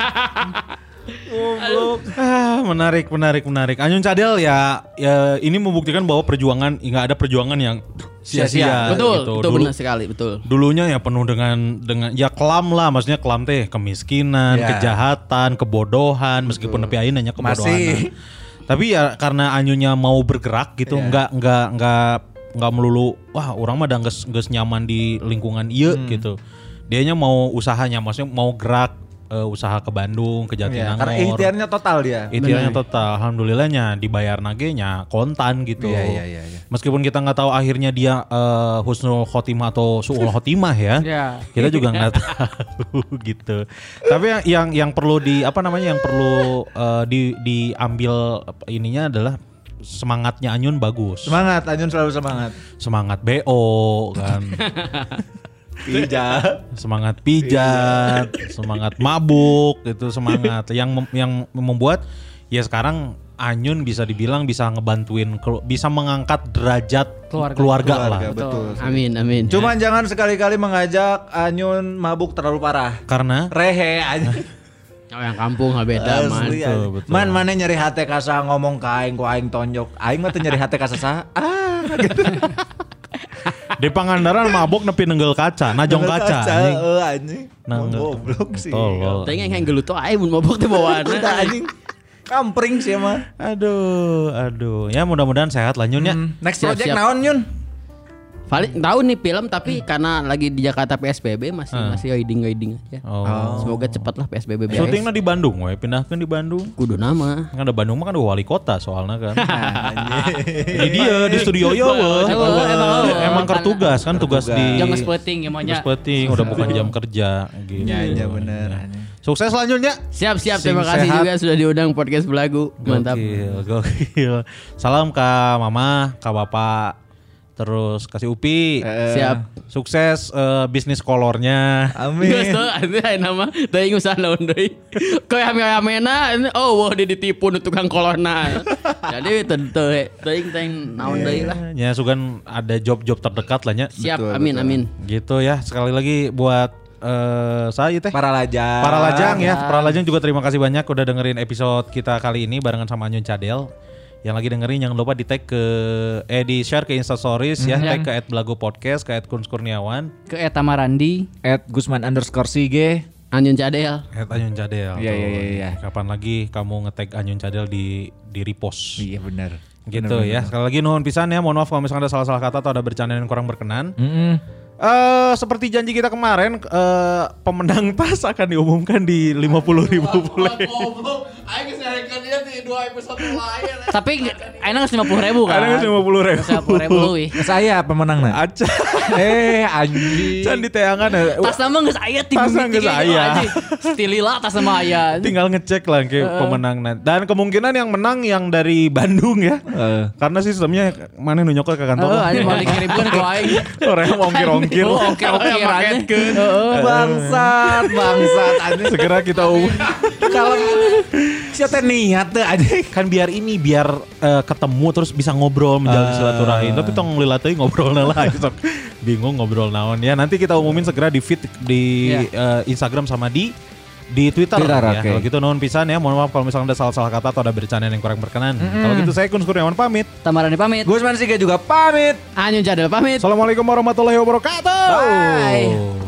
Menarik. Anyun Cadel ya ini membuktikan bahwa perjuangan nggak ada perjuangan yang sia-sia. Betul, gitu. itu benar sekali, betul. Dulunya ya penuh dengan ya kelam lah, maksudnya kelam teh kemiskinan, kejahatan, kebodohan, meskipun tapi ayeuna nya kebodohan. Masih. Tapi ya karena Anyunya mau bergerak gitu, nggak melulu wah orang mah geus nyaman di lingkungan ieu gitu. Dianya mau usahanya, maksudnya mau gerak usaha ke Bandung, ke Jatinangor. Karena ikhtiarnya total dia. Ikhtiarnya total. Alhamdulillahnya dibayar nagenya kontan gitu. Iya. Meskipun kita nggak tahu akhirnya dia husnul khotimah atau suul khotimah ya. Kita juga nggak tahu gitu. Tapi yang perlu yang perlu diambil ininya adalah semangatnya Anyun bagus. Semangat, Anyun selalu semangat. Semangat BO kan. Semangat pijat, semangat mabuk, itu semangat yang membuat ya sekarang Anyun bisa dibilang bisa ngebantuin, bisa mengangkat derajat keluarga lah. Betul. Amin. Cuman jangan sekali-kali mengajak Anyun mabuk terlalu parah. Karena rehe aja. Oh yang kampung beda man. Betul. Man mana nyeri hati kasa ngomong ke aing ku aing tonjok. Aing mah teu nyeri hati kasa gitu. Di Pangandaran mabuk nepi nenggel kaca, najong kaca. Anjing. Goblok sih. Tengah yang gelut tuh aing mun mabok teh bawaana. Anjing. Kampring sih mah. Aduh. Ya mudah-mudahan sehat lah Nyun ya. Next project naon Nyun? Paling tahu nih film tapi karena lagi di Jakarta PSBB masih guiding aja. Semoga cepat lah PSBB beres. Syutingnya di Bandung, pindahkan di Bandung. Kudu nama. Kan ada Bandung mah kan wali kota soalnya kan. Ini dia di studio ya emang kertugas kan tugas di. Jam spleting ya maunya. Spleting udah bukan jam kerja gitu. Iya bener. Sukses selanjutnya. Siap. Terima kasih juga sudah diundang podcast Belagu. Mantap. Gokil. Salam ke Mama, ke Bapak. Terus kasih Upi. Siap. Sukses bisnis kolornya. Amin. Geus teu aya nama teuing usaha naon deui. Koe ame-amena wah dia ditipu nu tukang kolorna. Jadi teuing naon deui lah. Ya sugan ada job-job terdekat lah nya. Siap. Betul, amin. Gitu ya. Sekali lagi buat saya teh Para Lajang ya. Para Lajang juga terima kasih banyak udah dengerin episode kita kali ini barengan sama Anyun Cadel. Yang lagi dengerin jangan lupa di tag di share ke Instastories ya, tag ke @belagupodcast, ke @kunskurniawan, ke @tamarandi, @gusman_sige, Anyun Cadel. Anyun Cadel. Iya. Kapan lagi kamu nge-tag Anyun Cadel di repost. Iya benar. Gitu bener, ya. Sekali lagi nuhun pisan ya, mohon maaf kalau misalnya ada salah-salah kata atau ada bercanda yang kurang berkenan. Seperti janji kita kemarin, pemenang tas akan diumumkan di 50.000 bule. Aing nyarekan dia di 2 episode lain. Tapi enak 50.000 kan? Enak 50.000. 50.000 leuwih. Saya pemenangna. Aca. Anjing. Can diteangan. Tas nama geus aya tim. Tasna geus aya. Stilila tas nama aya. Tinggal ngecek lah ke pemenangnya. Dan kemungkinan yang menang yang dari Bandung ya. Karena sistemnya mana nu nyokot ke kantor. Anjing mau dikirimkeun ku aing. Orang ongkir-ongkir. Ongkir aja. Bangsat anjing. Segera kita Kalau siapa niat tuh aja kan biar ketemu terus bisa ngobrol menjalin silaturahim. Tapi tong lila teuing ngobrolna lah sok bingung ngobrol naon ya. Nanti kita umumin segera di feed di Instagram sama di Twitter ya. Okay. Kalau gitu nuhun pisan ya. Mohon maaf kalau misalnya ada salah-salah kata atau ada bercanda yang kurang berkenan. Kalau gitu saya Kun Kurniawan pamit. Tamarani pamit. Gusman Sige juga pamit. Anyun Cadel pamit. Assalamualaikum warahmatullahi wabarakatuh. Bye.